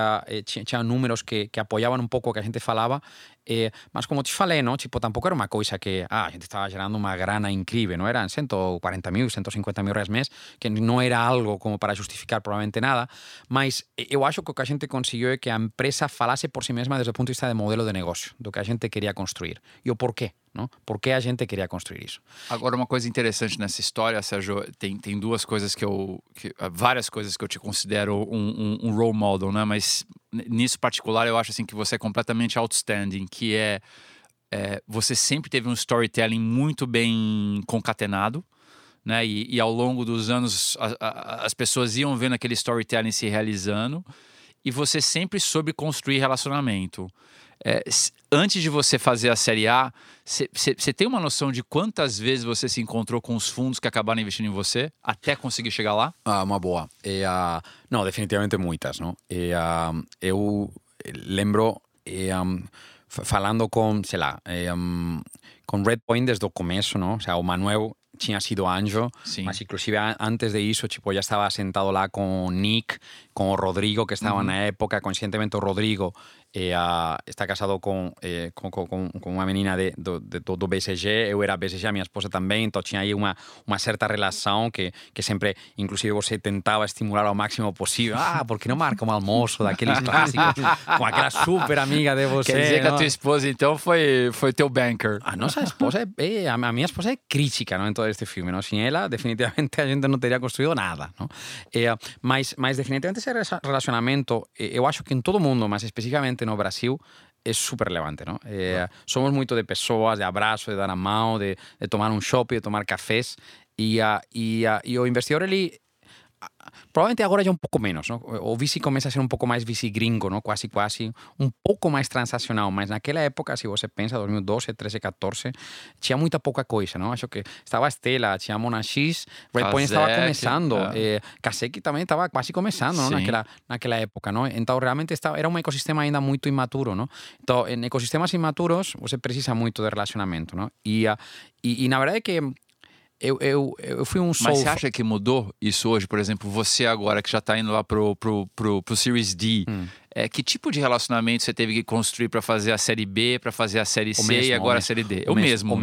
números que apoiavam um pouco o que a gente falava, mas como te falei, não? Tipo, tampouco era uma coisa que a gente estava gerando uma grana incrível, não eram 140.000, 150.000 reais mês, que não era algo como para justificar provavelmente nada, mas eu acho que o que a gente conseguiu é que a empresa falasse por si mesma desde o ponto de vista de modelo de negócio, do que a gente queria construir e o porquê, não? Por que a gente queria construir isso. Agora, uma coisa interessante nessa história, Sérgio, tem duas coisas várias coisas que eu te considero um role model, né? Mas nisso particular eu acho assim que você é completamente outstanding, que você sempre teve um storytelling muito bem concatenado, né? E ao longo dos anos as pessoas iam vendo aquele storytelling se realizando e você sempre soube construir relacionamento. Antes de você fazer a Série A, você tem uma noção de quantas vezes você se encontrou com os fundos que acabaram investindo em você até conseguir chegar lá? Uma boa. Não, definitivamente muitas, não? Eu lembro falando com, sei lá, com Redpoint desde o começo, não? O sea, o Manuel tinha sido anjo, Sim. mas inclusive antes de isso, tipo, já estava sentado lá com o Nick, com o Rodrigo, que estava na época, conscientemente o Rodrigo está casado com uma menina do BCG, eu era BCG, a minha esposa também, então tinha aí uma certa relação que sempre, inclusive, você tentava estimular ao máximo possível. Por que não marca um almoço daqueles clássicos com aquela super amiga de você? Quer dizer que não? a tua esposa, então, foi teu banker. A nossa esposa a minha esposa é crítica, não, em todo este filme, não? Sem ela, definitivamente a gente não teria construído nada, não? Mas definitivamente esse relacionamento, eu acho que em todo mundo, mas especificamente no Brasil, é super relevante, não? Somos muito de pessoas, de abraço, de dar a mão, de tomar um shopping, de tomar cafés, e o investidor, ele provavelmente agora já um pouco menos, não? O VC começa a ser um pouco mais VC gringo, não? Quase, um pouco mais transacional, mas naquela época, se você pensa, 2012, 13, 14, tinha muita pouca coisa, não? Acho que estava a Stella, tinha a Mona X, Redpoint estava começando, Kaseki também estava quase começando, não? Naquela época, não? Então, realmente era um ecossistema ainda muito imaturo, não? Então, em ecossistemas imaturos, você precisa muito de relacionamento, não? E na verdade é que eu fui um Mas você acha que mudou isso hoje? Por exemplo, você agora que já está indo lá pro Series D, que tipo de relacionamento você teve que construir para fazer a série B, para fazer a série C e agora a série D? O mesmo.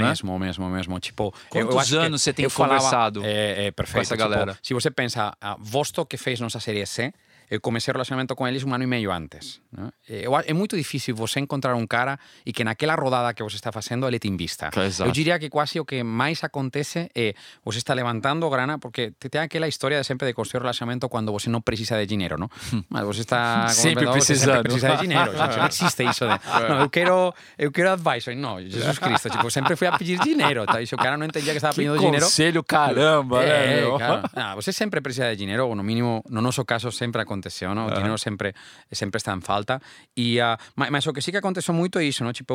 Tipo, quantos anos você tem conversado perfeito, com essa galera? Tipo, se você pensa, Vostok, que fez nossa série C, eu comecei o relacionamento com eles 1 ano e meio antes. Né? É muito difícil você encontrar um cara e que naquela rodada que você está fazendo ele te invista. Exato. Eu diria que quase o que mais acontece é você está levantando grana, porque tem aquela história de sempre de construir relacionamento quando você não precisa de dinheiro, não? Mas você está sempre precisando. Sempre precisa de dinheiro. Gente, não existe isso de, não, eu quero advice. Não, Jesus Cristo, tipo, sempre fui a pedir dinheiro. Tá? E se o cara não entendia que estava pedindo dinheiro... conselho, caramba, né? Claro. Você sempre precisa de dinheiro, ou no mínimo, no nosso caso, sempre aconteceu, não? O dinheiro sempre está em falta. Mas o que sí que aconteceu muito é isso, não? Tipo,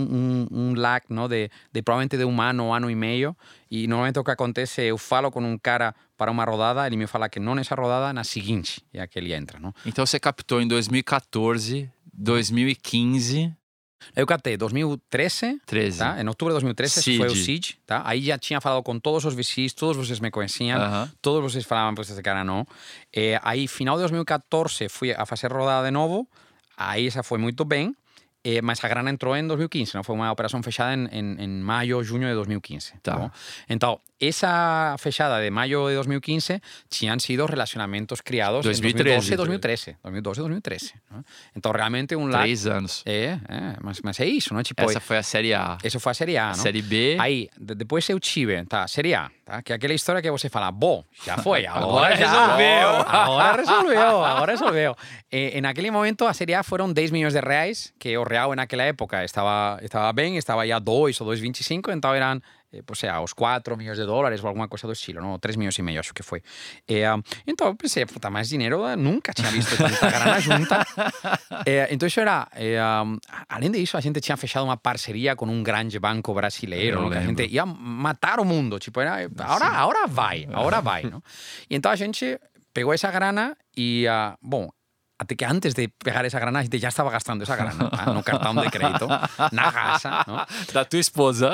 um lag, não? De provavelmente de 1 ano e meio. E normalmente o que acontece, eu falo com um cara para uma rodada, ele me fala que não nessa rodada, na seguinte, é que ele entra, não? Então você captou em 2014, 2015... Eu captei 2013, 13. Tá? Em outubro de 2013 foi o Seed, tá? Aí já tinha falado com todos os VCs, todos vocês me conheciam, todos vocês falavam, pues esse cara não. Aí, final de 2014, fui a fazer rodada de novo, aí essa foi muito bem, mas a grana entrou em 2015, não? Foi uma operação fechada em maio, junho de 2015. Tá. Então, essa fechada de maio de 2015 tinham sido relacionamentos criados 2013, em 2012 e 2013. Não? Então, realmente um lag... 3 anos. Mas é isso, não? Tipo, essa foi a série A. Essa foi a série A, não? A série B... Aí, depois eu tive, tá? Série A, tá? Que é aquela história que você fala, bom, já foi, agora resolveu. Agora resolveu. E naquele momento, a série A foram 10 milhões de reais, que o real naquela época estava bem, estava aí a 2 ou 2,25, então eram... Pues aos 4 milhões de dólares ou alguma coisa do estilo, não? 3 milhões e meio, acho que foi. Então eu pensei, puta, mais dinheiro, nunca tinha visto tanta grana junta. Então isso era, além disso, a gente tinha fechado uma parceria com um grande banco brasileiro, que a gente ia matar o mundo, tipo, era, agora vai, não? E então a gente pegou essa grana e, bom, até que antes de pegar essa grana, a gente já estava gastando essa grana, tá? No cartão de crédito, na casa, não? Da tua esposa.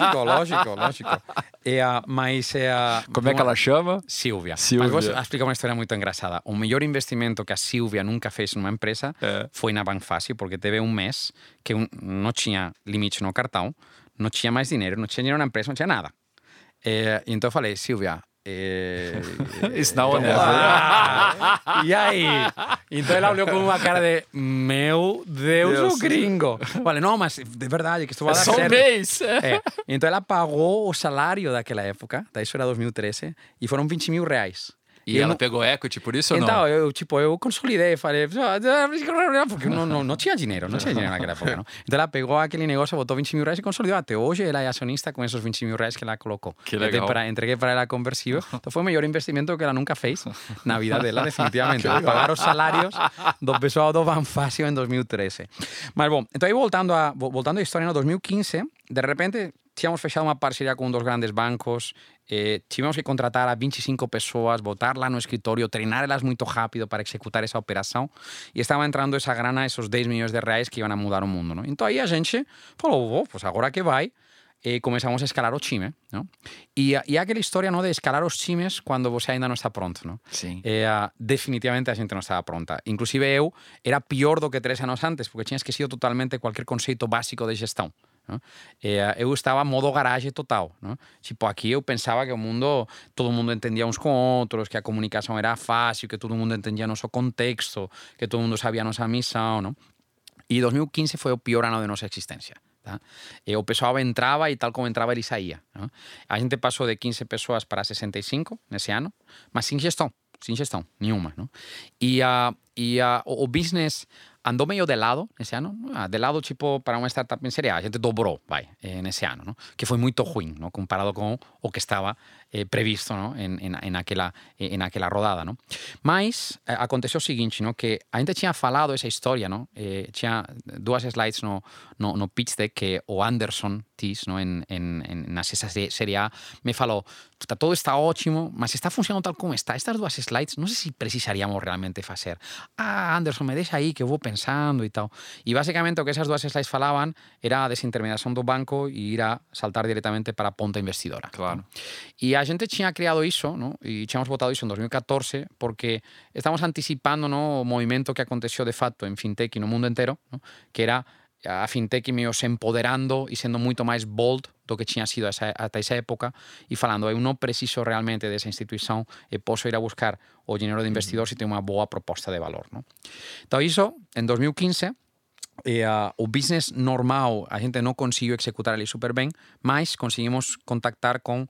Lógico. Mas... Como é que ela chama? Silvia. Mas vou explicar uma história muito engraçada. O melhor investimento que a Silvia nunca fez numa empresa foi na Banfácil, porque teve um mês que não tinha limite no cartão, não tinha mais dinheiro, não tinha dinheiro na empresa, não tinha nada. Então eu falei, Silvia... It's now or never. E aí? Então ela olhou com uma cara de meu Deus, o gringo. Vale, não, mas de verdade que isto vai dar certo. Só um mês. Então ela pagou o salário daquela época, isso era 2013, e foram 20 mil reais. E ela pegou equity por isso ou não? Então, eu consolidei, falei, porque não tinha dinheiro, naquela época, não? Então ela pegou aquele negócio, botou 20 mil reais e consolidou. Até hoje ela é acionista com esses 20 mil reais que ela colocou. Que legal. Entreguei para ela conversível. Então foi o melhor investimento que ela nunca fez na vida dela, definitivamente. Pagar os salários do pessoal do Banfácil em 2013. Mas bom, então aí voltando à história, em 2015, de repente... Tínhamos fechado uma parceria com 2 grandes bancos, tivemos que contratar a 25 pessoas, botar lá no escritório, treiná-las muito rápido para executar essa operação e estava entrando essa grana, esses 10 milhões de reais que iam a mudar o mundo, não? Então aí a gente falou, pues agora que vai, começamos a escalar o time, não? E aquela história, não, de escalar os times quando você ainda não está pronto, não? Sim. Definitivamente a gente não estava pronta. Inclusive eu era pior do que 3 anos antes, porque tinha esquecido totalmente qualquer conceito básico de gestão. Não? Eu estava modo garagem total. Não? Tipo, aqui eu pensava que o mundo, todo mundo entendia uns com outros, que a comunicação era fácil, que todo mundo entendia nosso contexto, que todo mundo sabia nossa missão. Não? E 2015 foi o pior ano de nossa existência. Tá? O pessoal entrava e tal como entrava ele saía. Não? A gente passou de 15 pessoas para 65 nesse ano, mas sem gestão nenhuma. Não? E o business andou meio de lado nesse ano, de lado tipo para uma startup em série A, a gente dobrou, nesse ano, não? Que foi muito ruim, não? Comparado com o que estava previsto, não? Naquela rodada, não? Mas aconteceu o seguinte, não? Que a gente tinha falado essa história, não? Tinha 2 slides no pitch deck que o Anderson Tis, não? Nessa série A me falou, todo está ótimo, mas está funcionando tal como está. Estas 2 slides, não sei se precisaríamos realmente fazer. Anderson, me deixa aí que eu vou pensando e tal. E basicamente o que esas 2 slides falaban era a desintermediación do banco e ir a saltar directamente para a ponta investidora. Claro. E a gente tinha criado iso, ¿no? E tínhamos votado iso en 2014 porque estamos anticipando, ¿no? O movimento que aconteceu de facto en fintech e no mundo entero, ¿no? Que era a fintech meio se empoderando e sendo moito máis bold do que tinha sido ata esa época e falando, eu non preciso realmente desa institución e posso ir a buscar o dinheiro de investidor se ten unha boa proposta de valor, ¿no? Então iso, en 2015, o business normal a gente non conseguiu executar ali super ben, mas conseguimos contactar con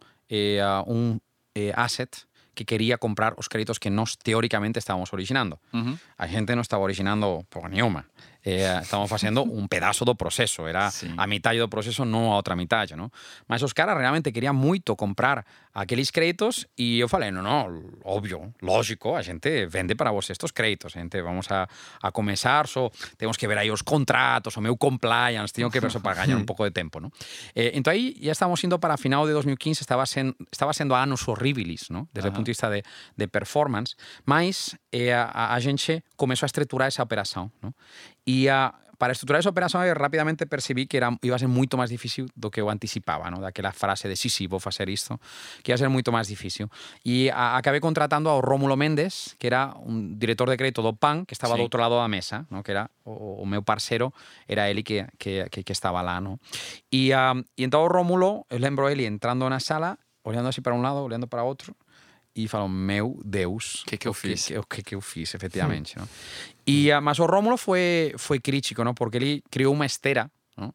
un asset que quería comprar os créditos que nós teóricamente estábamos originando. A gente non estaba originando por nenhuma. Estamos facendo un pedazo do proceso. Era a mitad do proceso, non a outra mitad, ¿no? Mas os caras realmente querían moito comprar aqueles créditos e eu falei, no, obvio, lógico, a gente vende para vos estos créditos. A gente vamos a comenzar, temos que ver aí os contratos, o meu compliance, tengo que ver eso para gañar un pouco de tempo, ¿no? Entón aí ya estamos indo para final de 2015, estaba sendo anos horribilis, ¿no? Desde o punto de vista de performance, mas a gente comezou a estruturar esa operación, ¿no? E para estruturar esa operación eu rapidamente percibí que iba a ser moito máis difícil do que eu anticipaba, ¿no? Daquela frase de sí, vou facer isto, que ia ser moito máis difícil. E acabei contratando ao Rómulo Méndez, que era un director de crédito do PAN, que estaba do outro lado da mesa, ¿no? Que era o meu parceiro, era ele que estaba lá, ¿no? E entón o Rómulo, eu lembro ele entrando na sala, olhando así para un lado, olhando para outro, e falou, meu Deus, que eu fiz? O que eu fiz, efectivamente. ¿no? Mas o Rómulo foi crítico, ¿no? Porque ele criou uma esteira, ¿no?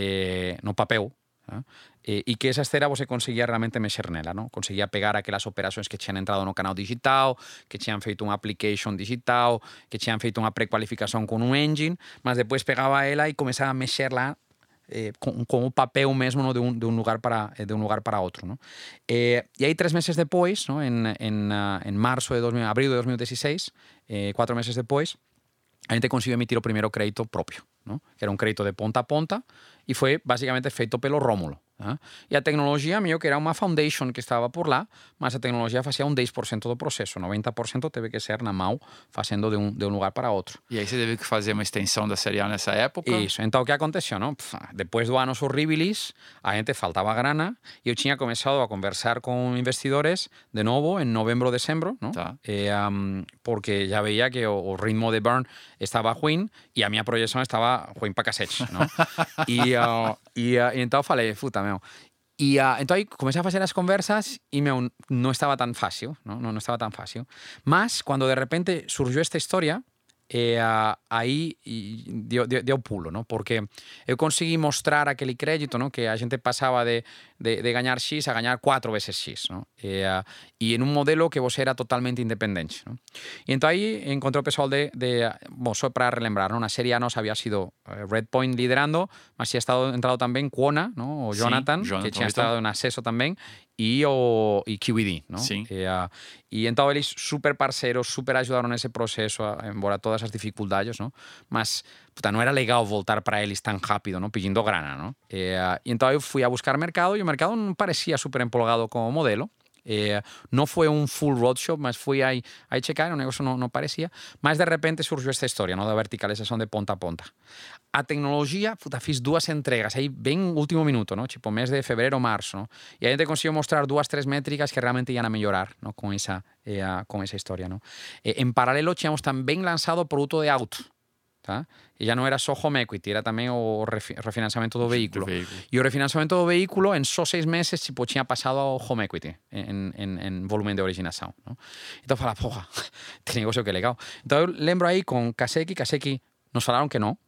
No papel, ¿no? E que esa esteira você conseguía realmente mexer nela, ¿no? Conseguía pegar aquelas operações que tinham entrado no canal digital, que tinham feito unha application digital, que tinham feito unha precualificación con un engine, mas depois pegaba ela e comezaba a mexerla con o papel mesmo, ¿no? de un lugar para outro, ¿no? E aí 3 meses depois, ¿no? en marzo de abril de 2016, 4 meses depois, a gente conseguiu emitir o primeiro crédito propio, ¿no? Que era un crédito de ponta a ponta e foi basicamente feito pelo Rómulo. E a tecnologia meio que era unha foundation que estaba por lá, mas a tecnologia facía un 10% do proceso, 90% teve que ser na mão, facendo de un lugar para outro. E aí você teve que fazer uma extensão da Série A nessa época? Isso, então o que aconteceu, não? Depois do anos horribilis, a gente faltava grana e eu tinha começado a conversar com investidores de novo em novembro, dezembro, não? Tá. Porque já veia que o ritmo de burn estava ruim e a minha projeção estava ruim para cacete, não? E então falei, puta, meu. E então aí comecei a fazer as conversas e não estava tão fácil, não estava tão fácil. Mas quando de repente surgiu esta história, aí deu pulo, ¿no? Porque eu consegui mostrar aquele crédito, ¿no? Que a gente passava de ganhar X a ganhar 4 veces X, ¿no? E en un modelo que você era totalmente independente, ¿no? E então aí encontrei o pessoal bom, só para relembrar, ¿no? Na Série A nos había sido Redpoint liderando, mas tinha entrado também Quona, ¿no? O Jonathan, que tinha estado en Acceso também, e QED, ¿no? Sim. E então eles super parceiros, super ajudaram nesse processo, embora todas as dificuldades, ¿no? Mas, puta, não era legal voltar para eles tão rápido, ¿no? Pedindo grana, ¿no? E então eu fui a buscar mercado e o mercado não parecia super empolgado com o modelo. Não foi um full roadshow, mas fui aí checar, o negócio não parecia. Mas de repente surgiu esta história, da verticalização de ponta a ponta. A tecnologia, fiz 2 entregas aí bem último minuto, tipo mês de fevereiro, março. E a gente conseguiu mostrar 2, 3 métricas que realmente iam a melhorar com essa história. En paralelo, tínhamos também lançado o produto de auto. Tá? E já não era só home equity, era também o refinanciamento do veículo. E o refinanciamento do veículo, em só 6 meses, tinha passado ao home equity em volume de originação. Então, falava, porra, este negócio que legal. Então, eu lembro aí com Kaseki nos falaram que não.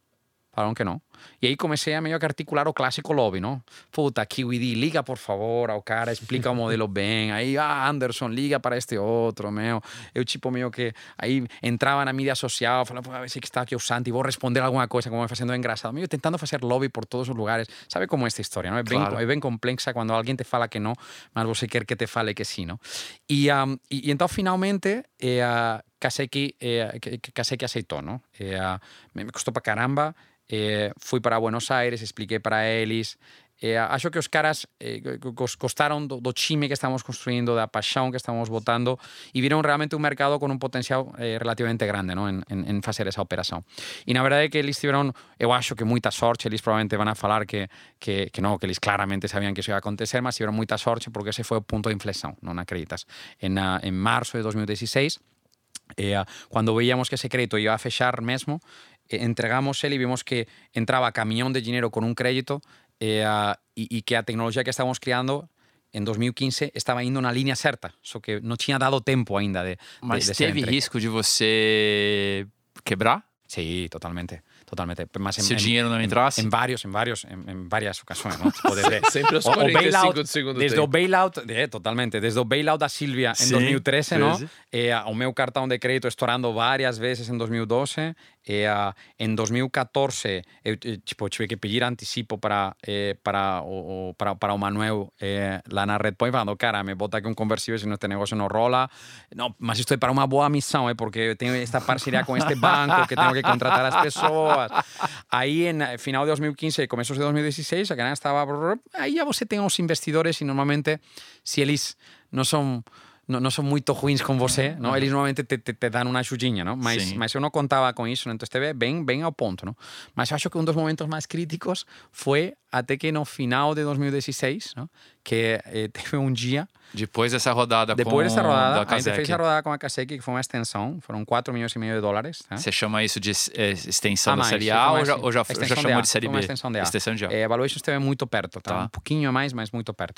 E aí comecei a meio que articular o clássico lobby, Puta, KiwiD, liga por favor ao cara, explica o modelo bem. Aí, Anderson, liga para este outro, meu. Eu meio que aí entrava na mídia social, falava, a ver se que está aqui o Santi, vou responder alguma coisa, como fazendo engraçado. Meio tentando fazer lobby por todos os lugares. Sabe como é esta história, É bem complexa quando alguém te fala que não, mas você quer que te fale que sim, E então, finalmente, Kaseki aceitou, me custou para caramba. Fui para Buenos Aires, expliquei para eles. Acho que os caras gostaram do time que estamos construindo, da paixão que estamos botando e viram realmente um mercado com um potencial relativamente grande em fazer essa operação. E na verdade é que eles tiveram, eu acho que muita sorte, eles provavelmente vão falar que eles claramente sabiam que isso ia acontecer, mas tiveram muita sorte porque esse foi o ponto de inflexão, não acreditas? Em março de 2016, quando veíamos que ese crédito iba a fechar mesmo, entregamos ele y vimos que entraba camión de dinero con un crédito y que la tecnología que estábamos creando en 2015 estaba indo na linha certa, só que não tinha dado tempo ainda de Mas de teve risco de você quebrar? Sí, totalmente. Mas Se o dinheiro não entrasse? Em várias ocasiões, Tipo, Sempre aos 45 do segundo desde tempo. o bailout, totalmente, desde o bailout da Silvia em 2013, o meu cartão de crédito estourando várias vezes em 2012, em 2014 eu tive que pedir anticipo para o Manuel lá na Redpoint, falando, cara, me bota aqui conversível, se este negócio não rola. Não, mas isto é para uma boa missão, porque tenho esta parceria com este banco, que tenho que contratar as pessoas. Aí, em final de 2015 e começos de 2016, a canal estava... Aí já você tem os investidores e normalmente, se eles não são muito ruins com você, eles normalmente te dão uma ajudinha, mas eu não contava com isso, então esteve bem ao ponto. Mas acho que um dos momentos mais críticos foi até que no final de 2016, que teve um dia... Depois dessa rodada da Kaseki. a gente fez a rodada com a Kaseki, que foi uma extensão, foram 4,5 milhões de dólares. Você chama isso de extensão da mais, Série A ou já extensão chamou de Série B? Uma extensão de A. Extensão de A. A valuation esteve muito perto, um pouquinho a mais, mas muito perto.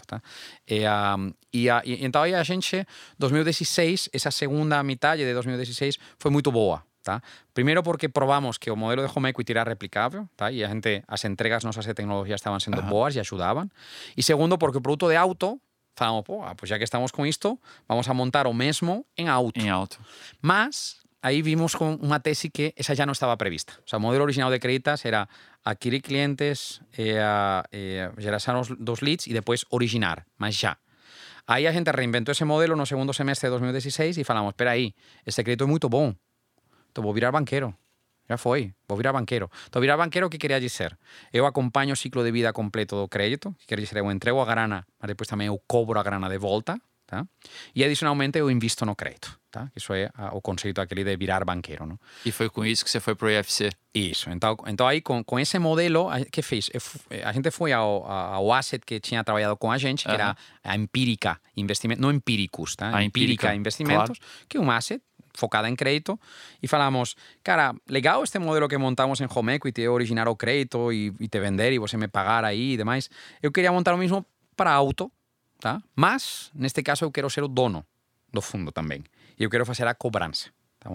Então aí a gente, 2016, essa segunda metade de 2016 foi muito boa. Primeiro porque probamos que o modelo de home equity era replicável, e a gente, as entregas nossas de tecnologia estaban sendo boas e ajudaban. E segundo porque o produto de auto, falamos, pues já que estamos com isto, vamos a montar o mesmo em auto. Mas aí vimos com uma tese que essa já não estava prevista. O sea, o modelo original de Creditas era adquirir clientes, gerar dos leads e depois originar, mas já. Aí a gente reinventou esse modelo no segundo semestre de 2016 e falamos, espera aí, esse crédito é muito bom. Então vou virar banqueiro. Já foi, vou virar banqueiro. Então, virar banqueiro, o que queria dizer? Eu acompanho o ciclo de vida completo do crédito, que quer dizer, eu entrego a grana, mas depois também eu cobro a grana de volta, e adicionalmente eu invisto no crédito. Isso é o conceito aquele de virar banqueiro. E foi com isso que você foi para o IFC? Isso. Então aí, com esse modelo, o que fez? A gente foi ao asset que tinha trabalhado com a gente, que era a Empírica Investimentos, não Empíricos, A Empírica Investimentos, que é um asset focada em crédito, e falamos, cara, legal este modelo que montamos em home equity, originar o crédito e te vender e você me pagar aí e demais. Eu queria montar o mesmo para auto, mas, neste caso, eu quero ser o dono do fundo também. E eu quero fazer a cobrança.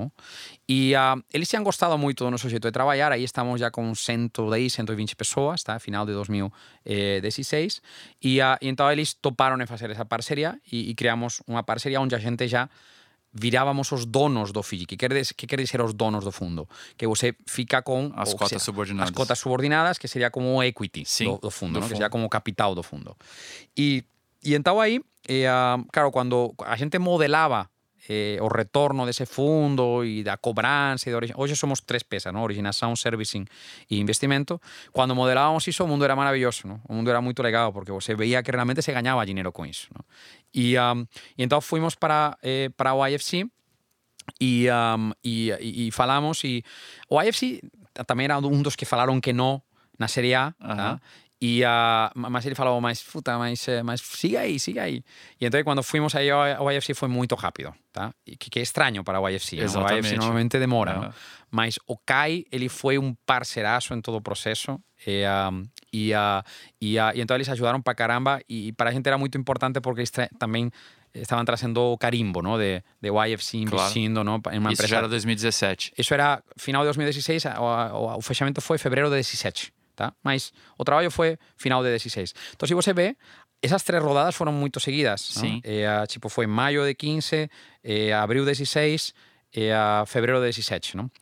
E eles tinham gostado muito do nosso jeito de trabalhar, aí estamos já com 110, 120 pessoas, final de 2016, e então eles toparam em fazer essa parceria e criamos uma parceria onde a gente já virábamos os donos do FII. Que quer dizer os donos do fundo? Que você fica com... As cotas subordinadas. As cotas subordinadas, que seria como o equity do fundo, que seria como o capital do fundo. E então aí, claro, quando a gente modelava o retorno desse fundo e da cobrança, hoje somos 3 P's, originação, servicing e investimento. Quando modelávamos isso, o mundo era maravilhoso, o mundo era muito legal, porque você veia que realmente se ganhava dinheiro com isso. E então fomos para o IFC e falamos. E o IFC também era um dos que falaram que não na Série A, tá? Mas ele falou, mas siga aí. E então quando fomos aí ao IFC foi muito rápido, tá? Que é estranho para o IFC. O IFC normalmente demora, não? Mas o Kai, ele foi um parceiraço em todo o processo. E então eles ajudaram para caramba. E para a gente era muito importante porque eles também estavam trazendo o carimbo, ¿no? de o IFC investindo, ¿no? Em uma Isso empresa. já era 2017. Isso era final de 2016, o fechamento foi fevereiro de 17. Tá? Mas o trabalho foi final de 16. Então, se você vê, essas 3 rodadas foram muito seguidas. Sim. Tipo, foi maio de 15, abril de 16, fevereiro de 17. Não?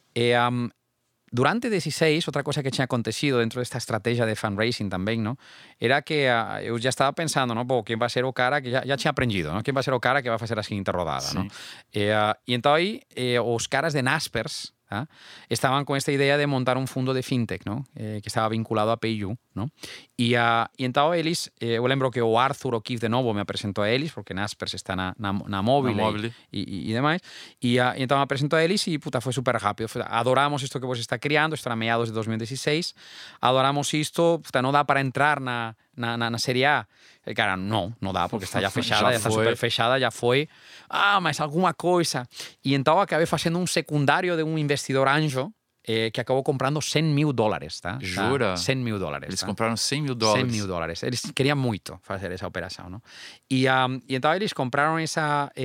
Durante 16, outra coisa que tinha acontecido dentro desta estratégia de fundraising também, não? Era que eu já estava pensando, não? Pô, quem vai ser o cara que já tinha aprendido, não? Quem vai ser o cara que vai fazer a seguinte rodada, não? E então aí, os caras de Naspers, ¿ah? Estaban con esta idea de montar un fundo de fintech, ¿no? Que estaba vinculado a PayU, ¿no? E então eles, eu lembro que o Arthur O'Keefe de novo me apresentou a eles, porque Naspers está na móvel e demais, e então me apresentou a eles e puta, foi super rápido. Adoramos isto que você está criando, isto era meados de 2016, adoramos isto, puta, não dá para entrar na Série A. E, cara, não dá, porque está já fechada, já está super fechada, já foi. Mas alguma coisa. E então acabei fazendo um secundário de um investidor anjo que acabou comprando $100.000, tá? Jura? $100.000. Eles tá? compraram $100.000. $100.000. Eles queriam muito fazer essa operação, não? E então eles compraram esses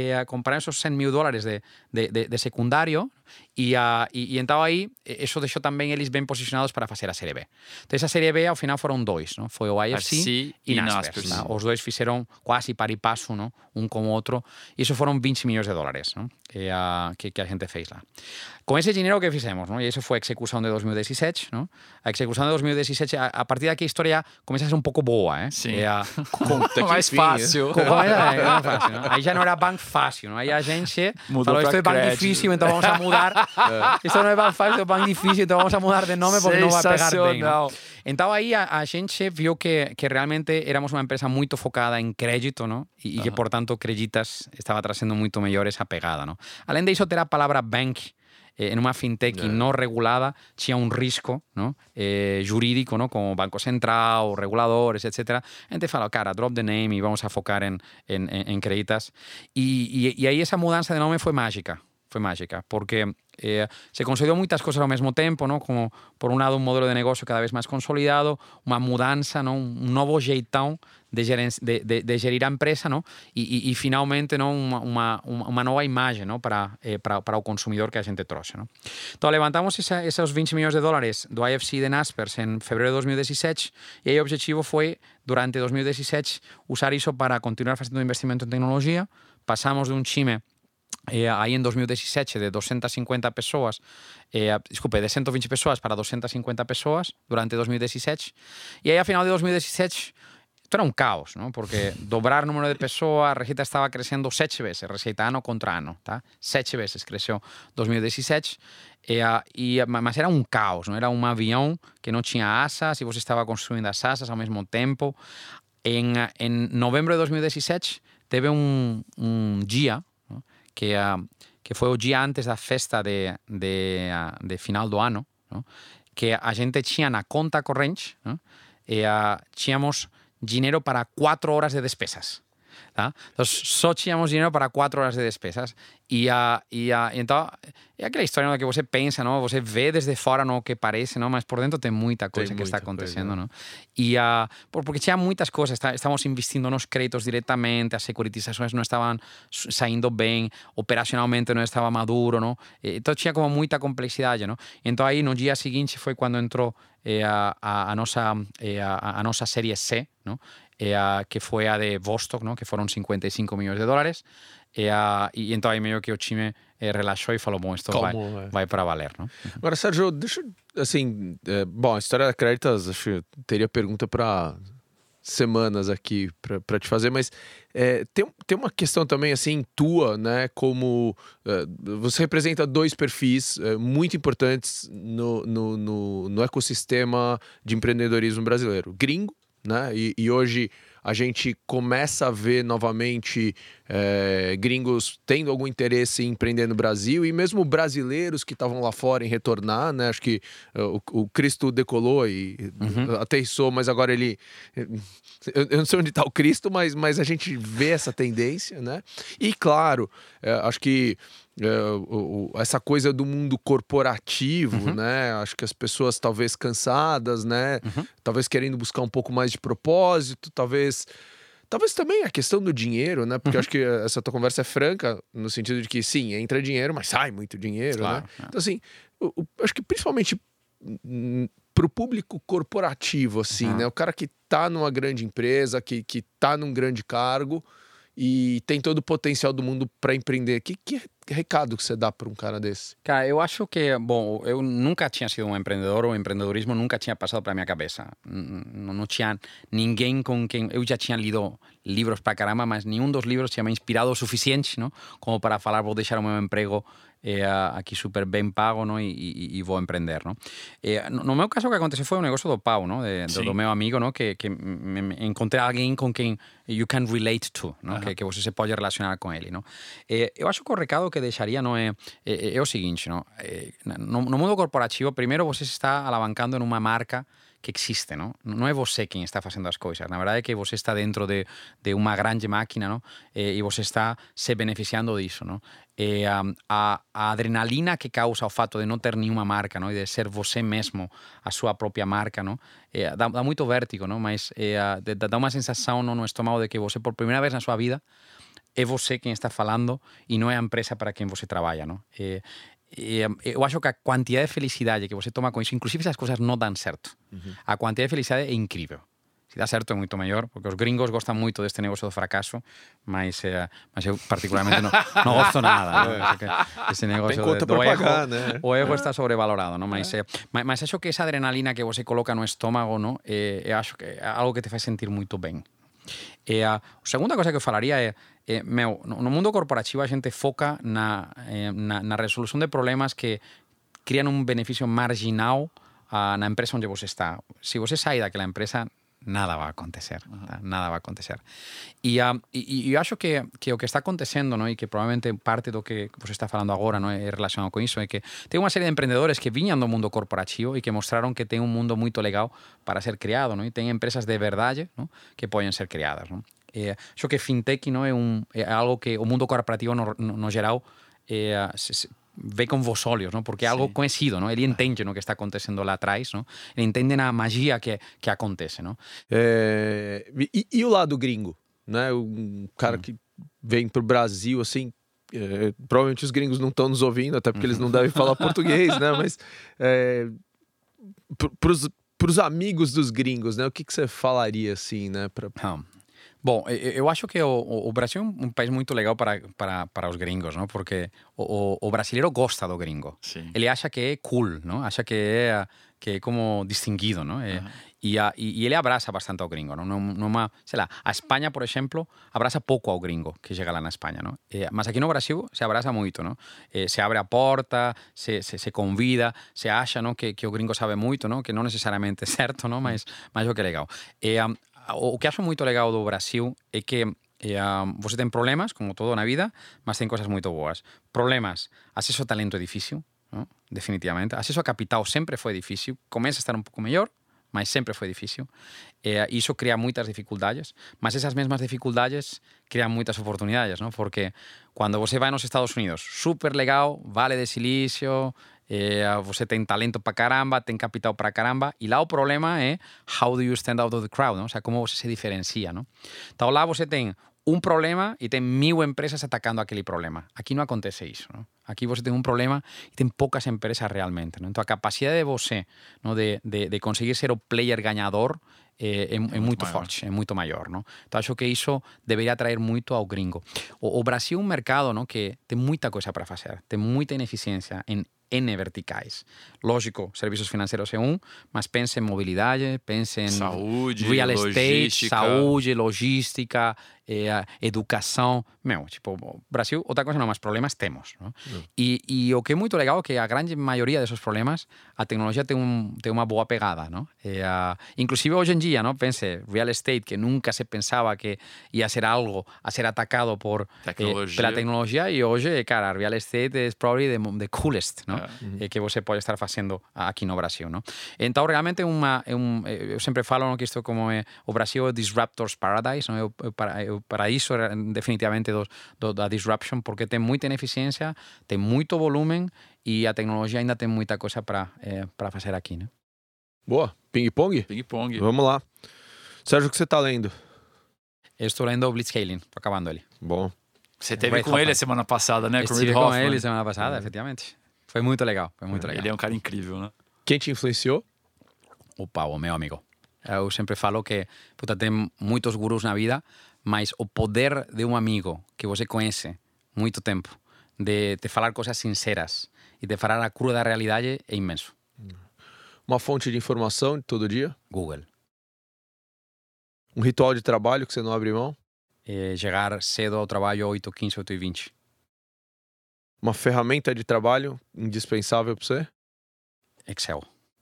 $100.000 de secundário e então aí isso deixou também eles bem posicionados para fazer a Série B. Então essa Série B ao final foram 2, não? Foi o IFC e Naspers. Tá? Os dois fizeram quase par e passo, não? Um com o outro. E isso foram $20 milhões, não? Que a gente fez lá. Com esse dinheiro que fizemos, não? E isso foi a execução de 2017, não? A execução de 2017, a partir daqui a história começa a ser um pouco boa, Sim. Mais fácil. Mais fácil, não? Aí já não era banco fácil, não? Aí a gente falou, isto é banco difícil, então vamos a mudar. Isto não é banco fácil, é banco difícil, então vamos a mudar de nome porque não vai pegar bem. Não? Então aí a gente viu que realmente éramos uma empresa muito focada em crédito, não? E que, portanto, Creditas estava trazendo muito melhor essa pegada, não? Além disso, ter a palavra bank en uma fintech não regulada tinha um risco, não? Jurídico, não? Como Banco Central, reguladores, etc. A gente fala, cara, drop the name e vamos a focar em Creditas. E aí essa mudança de nome foi mágica. Foi mágica, porque se consolidou muitas coisas ao mesmo tempo, não? Como, por um lado, um modelo de negócio cada vez mais consolidado, uma mudança, não? Um novo jeitão de gerir a empresa, não? E finalmente, não? Uma nova imagem, não? Para o consumidor que a gente trouxe, não? Então, levantamos esses $20 milhões do IFC e de Naspers em fevereiro de 2017 e aí o objetivo foi, durante 2017, usar isso para continuar fazendo investimento em tecnologia. Passamos de um time aí em 2017 de 250 pessoas, de 120 pessoas para 250 pessoas durante 2017. E aí, a final de 2017, isto era um caos, não? Porque dobrar o número de pessoas, a receita estava crescendo 7 vezes, receita ano contra ano, tá? 7 vezes cresceu 2017, mas era um caos, não? Era um avião que não tinha asas e você estava construindo as asas ao mesmo tempo. Em novembro de 2017, teve um dia, não? Que foi o dia antes da festa de final do ano, não? Que a gente tinha na conta corrente, não? Tínhamos dinheiro para 4 horas de despesas. Tá? Então, só tínhamos dinheiro para 4 horas de despesas. Então, é aquela história no que você pensa, não? Você vê desde fora no que parece, não? Mas por dentro tem muita coisa que está acontecendo. Não? Porque tinha muitas coisas. Estávamos investindo nos créditos diretamente, as securitizações não estavam saindo bem, operacionalmente não estava maduro. Não? Então, tinha como muita complexidade. Não? Então, aí no dia seguinte foi quando entrou a nossa série C, não? Que foi a de Vostok, não? Que foram $55 milhões. E então aí meio que o time relaxou e falou, bom, isso vai para valer, não? Agora, Sérgio, deixa assim, bom, a história da Creditas, acho que teria pergunta para semanas aqui para te fazer, mas tem uma questão também assim tua, né? Como você representa 2 perfis muito importantes no ecossistema de empreendedorismo brasileiro, gringo, né? E hoje a gente começa a ver novamente gringos tendo algum interesse em empreender no Brasil e mesmo brasileiros que estavam lá fora em retornar, né? Acho que o Cristo decolou e aterrissou, mas agora ele... Eu não sei onde está o Cristo, mas a gente vê essa tendência, né? E claro, acho que essa coisa do mundo corporativo, né? Acho que as pessoas talvez cansadas, né? Talvez querendo buscar um pouco mais de propósito, talvez também a questão do dinheiro, né? Porque eu acho que essa tua conversa é franca, no sentido de que sim, entra dinheiro, mas sai muito dinheiro, Claro, né? Então assim, acho que principalmente pro público corporativo, assim, né? O cara que tá numa grande empresa, que tá num grande cargo e tem todo o potencial do mundo para empreender. Que recado que você dá para um cara desse? Cara, eu acho que, bom, eu nunca tinha sido um empreendedor, o empreendedorismo nunca tinha passado pela minha cabeça. Não tinha ninguém com quem... Eu já tinha lido livros pra caramba, mas nenhum dos livros tinha me inspirado o suficiente, não? Como para falar, vou deixar o meu emprego aqui super bem pago, não? E vou empreender, não? No meu caso, o que aconteceu foi um negócio do Pau, não? Do meu amigo, não? Que encontrei alguém com quem you can relate to, não? Que você se pode relacionar com ele, não? Eu acho que o recado que deixaria não é o seguinte, não? No mundo corporativo, primeiro você está alavancando numa marca que existe, não? Não é você quem está fazendo as coisas. Na verdade é que você está dentro de uma grande máquina, não? E você está se beneficiando disso, não? A adrenalina que causa o fato de não ter nenhuma marca, não? E de ser você mesmo a sua própria marca, não? Dá muito vértigo, não? Mas dá uma sensação no estômago de que você, por primeira vez na sua vida, é você quem está falando e não é a empresa para quem você trabalha, não? Eu acho que a quantidade de felicidade que você toma com isso, inclusive se as coisas não dão certo, a quantidade de felicidade é incrível. Se dá certo é muito maior, porque os gringos gostam muito deste negócio do fracasso, mas eu particularmente não gosto nada. Né? Esse negócio do pagar, né? O ego está sobrevalorado, não? Mas acho que essa adrenalina que você coloca no estômago, não? Eu acho que é algo que te faz sentir muito bem. A segunda coisa que eu falaria é no mundo corporativo a gente foca na resolução de problemas que criam um benefício marginal na empresa onde você está. Se você sair daquela empresa, nada vai acontecer. Tá? Nada vai acontecer. E eu acho que o que está acontecendo, não? E que provavelmente parte do que você está falando agora não é relacionado com isso, é que tem uma série de empreendedores que vinham do mundo corporativo e que mostraram que tem um mundo muito legal para ser criado, não? E tem empresas de verdade, não? Que podem ser criadas. Não? Acho que fintech não é algo que o mundo corporativo no geral vê com vos olhos, não? Porque é algo conhecido, não? Ele entende o que está acontecendo lá atrás, não? Ele entende a magia que acontece, não? E o lado gringo, né? Um cara que vem pro Brasil, assim, provavelmente os gringos não estão nos ouvindo, até porque eles não devem falar português, né? Mas pros amigos dos gringos, né? O que você falaria, assim, né? Bom, eu acho que o Brasil é um país muito legal para os gringos, não? Porque o brasileiro gosta do gringo. Sim. Ele acha que é cool, não? Acha que é como distinguido, não? E ele abraça bastante ao gringo, não? Sei lá, a Espanha, por exemplo, abraça pouco ao gringo que chega lá na Espanha, não? Mas aqui no Brasil se abraça muito, não? Se abre a porta, se convida, se acha, não? Que o gringo sabe muito, não? Que não necessariamente é certo, não? Mas o que é legal. O que acho muito legal do Brasil é que você tem problemas, como todo na vida, mas tem coisas muito boas. Problemas, acesso a talento é difícil, não? Definitivamente. Acesso a capital sempre foi difícil. Começa a estar um pouco melhor, mas sempre foi difícil. Isso cria muitas dificuldades, mas essas mesmas dificuldades criam muitas oportunidades, não? Porque quando você vai nos Estados Unidos, super legal, Vale de Silício, você tem talento para caramba, tem capital para caramba, e lá o problema é how do you stand out of the crowd, não? Ou seja, como você se diferencia, não? Então lá você tem um problema e tem 1000 empresas atacando aquele problema. Aqui não acontece isso, não? Aqui você tem um problema e tem poucas empresas realmente, não? Então a capacidade de você, não? De conseguir ser o player ganhador é muito forte, é muito maior, não? Então acho que isso deveria atrair muito ao gringo. O Brasil é um mercado, não? Que tem muita coisa para fazer, tem muita ineficiência em N verticais. Lógico, serviços financeiros é um, mas pense em mobilidade, pense em saúde, real estate, logística. saúde, logística, educação. Tipo, Brasil, outra coisa não, mas problemas temos, não? E o que é muito legal é que a grande maioria desses problemas, a tecnologia tem uma boa pegada, não? Inclusive hoje em dia, não? Pense, real estate, que nunca se pensava que ia ser algo a ser atacado pela tecnologia, e hoje, cara, real estate é probably the coolest, não? Que você pode estar fazendo aqui no Brasil, não? Então, realmente eu sempre falo, não, que isto como o Brasil é disruptor's paradise, não? É o paraíso definitivamente da disruption, porque tem muita ineficiência, tem muito volume e a tecnologia ainda tem muita coisa para fazer aqui, né? Boa. Ping-pong? Ping-pong. Vamos lá. Sérgio, o que você tá lendo? Eu estou lendo o Blitzscaling, estou acabando ele. Bom. Você esteve com ele a semana passada, né? Estive com ele semana passada, efetivamente. Foi muito legal, Ele é um cara incrível, né? Quem te influenciou? O meu amigo. Eu sempre falo que tem muitos gurus na vida, mas o poder de um amigo que você conhece muito tempo, de te falar coisas sinceras e de falar a crua da realidade é imenso. Uma fonte de informação de todo dia? Google. Um ritual de trabalho que você não abre mão? Chegar cedo ao trabalho 8h15, 8h20. Uma ferramenta de trabalho indispensável para você? Excel.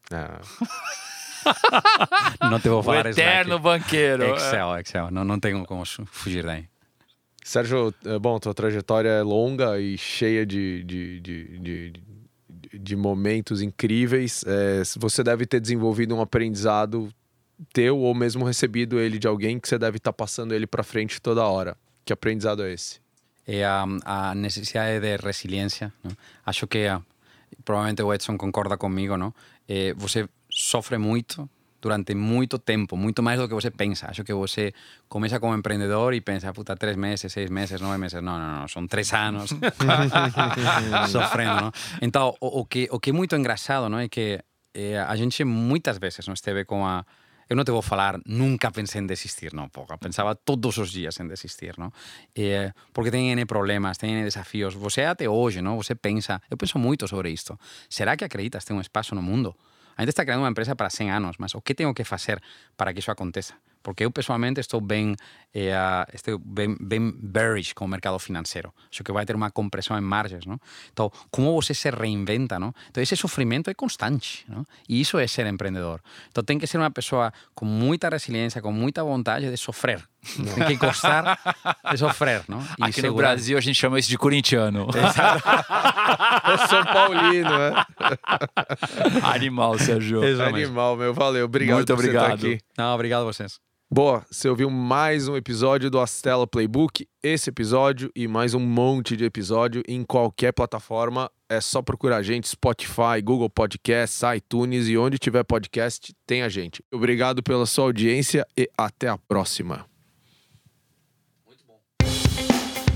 Ah. Não te vou falar o eterno banqueiro. Excel. Não tenho como fugir daí. Sérgio, bom, tua trajetória é longa e cheia de momentos incríveis. Você deve ter desenvolvido um aprendizado teu ou mesmo recebido ele de alguém que você deve estar passando ele para frente toda hora. Que aprendizado é esse? É a necessidade de resiliência, não? Acho que provavelmente o Edson concorda comigo, não? Você sofre muito durante muito tempo, muito mais do que você pensa. Acho que você começa como empreendedor e pensa, 3 meses, 6 meses, 9 meses. Não, são 3 anos sofrendo, não? Então, o que é muito engraçado, não? É que a gente muitas vezes não esteve com a... Eu não te vou falar, nunca pensei em desistir, não, porra. Pensava todos os dias em desistir, não? Porque tem N problemas, tem N desafios. Você até hoje, não? Você pensa... Eu penso muito sobre isto. Será que acreditas ter um espaço no mundo? A gente está criando uma empresa para 100 anos, mas o que tenho que fazer para que isso aconteça? Porque eu, pessoalmente, estou bem bearish com o mercado financeiro. Acho que vai ter uma compressão em margens, não? Então, como você se reinventa, não? Então, esse sofrimento é constante, não? E isso é ser empreendedor. Então, tem que ser uma pessoa com muita resiliência, com muita vontade de sofrer. Tem que gostar de sofrer, não? E aqui no Brasil, a gente chama isso de corintiano. Eu sou paulino, né? Animal, Sérgio. Animal, meu. Valeu. Obrigado Muito por você estar aqui. Não, obrigado a vocês. Boa, você ouviu mais um episódio do Astela Playbook. Esse episódio e mais um monte de episódio em qualquer plataforma. É só procurar a gente, Spotify, Google Podcasts, iTunes e onde tiver podcast, tem a gente. Obrigado pela sua audiência e até a próxima. Muito bom.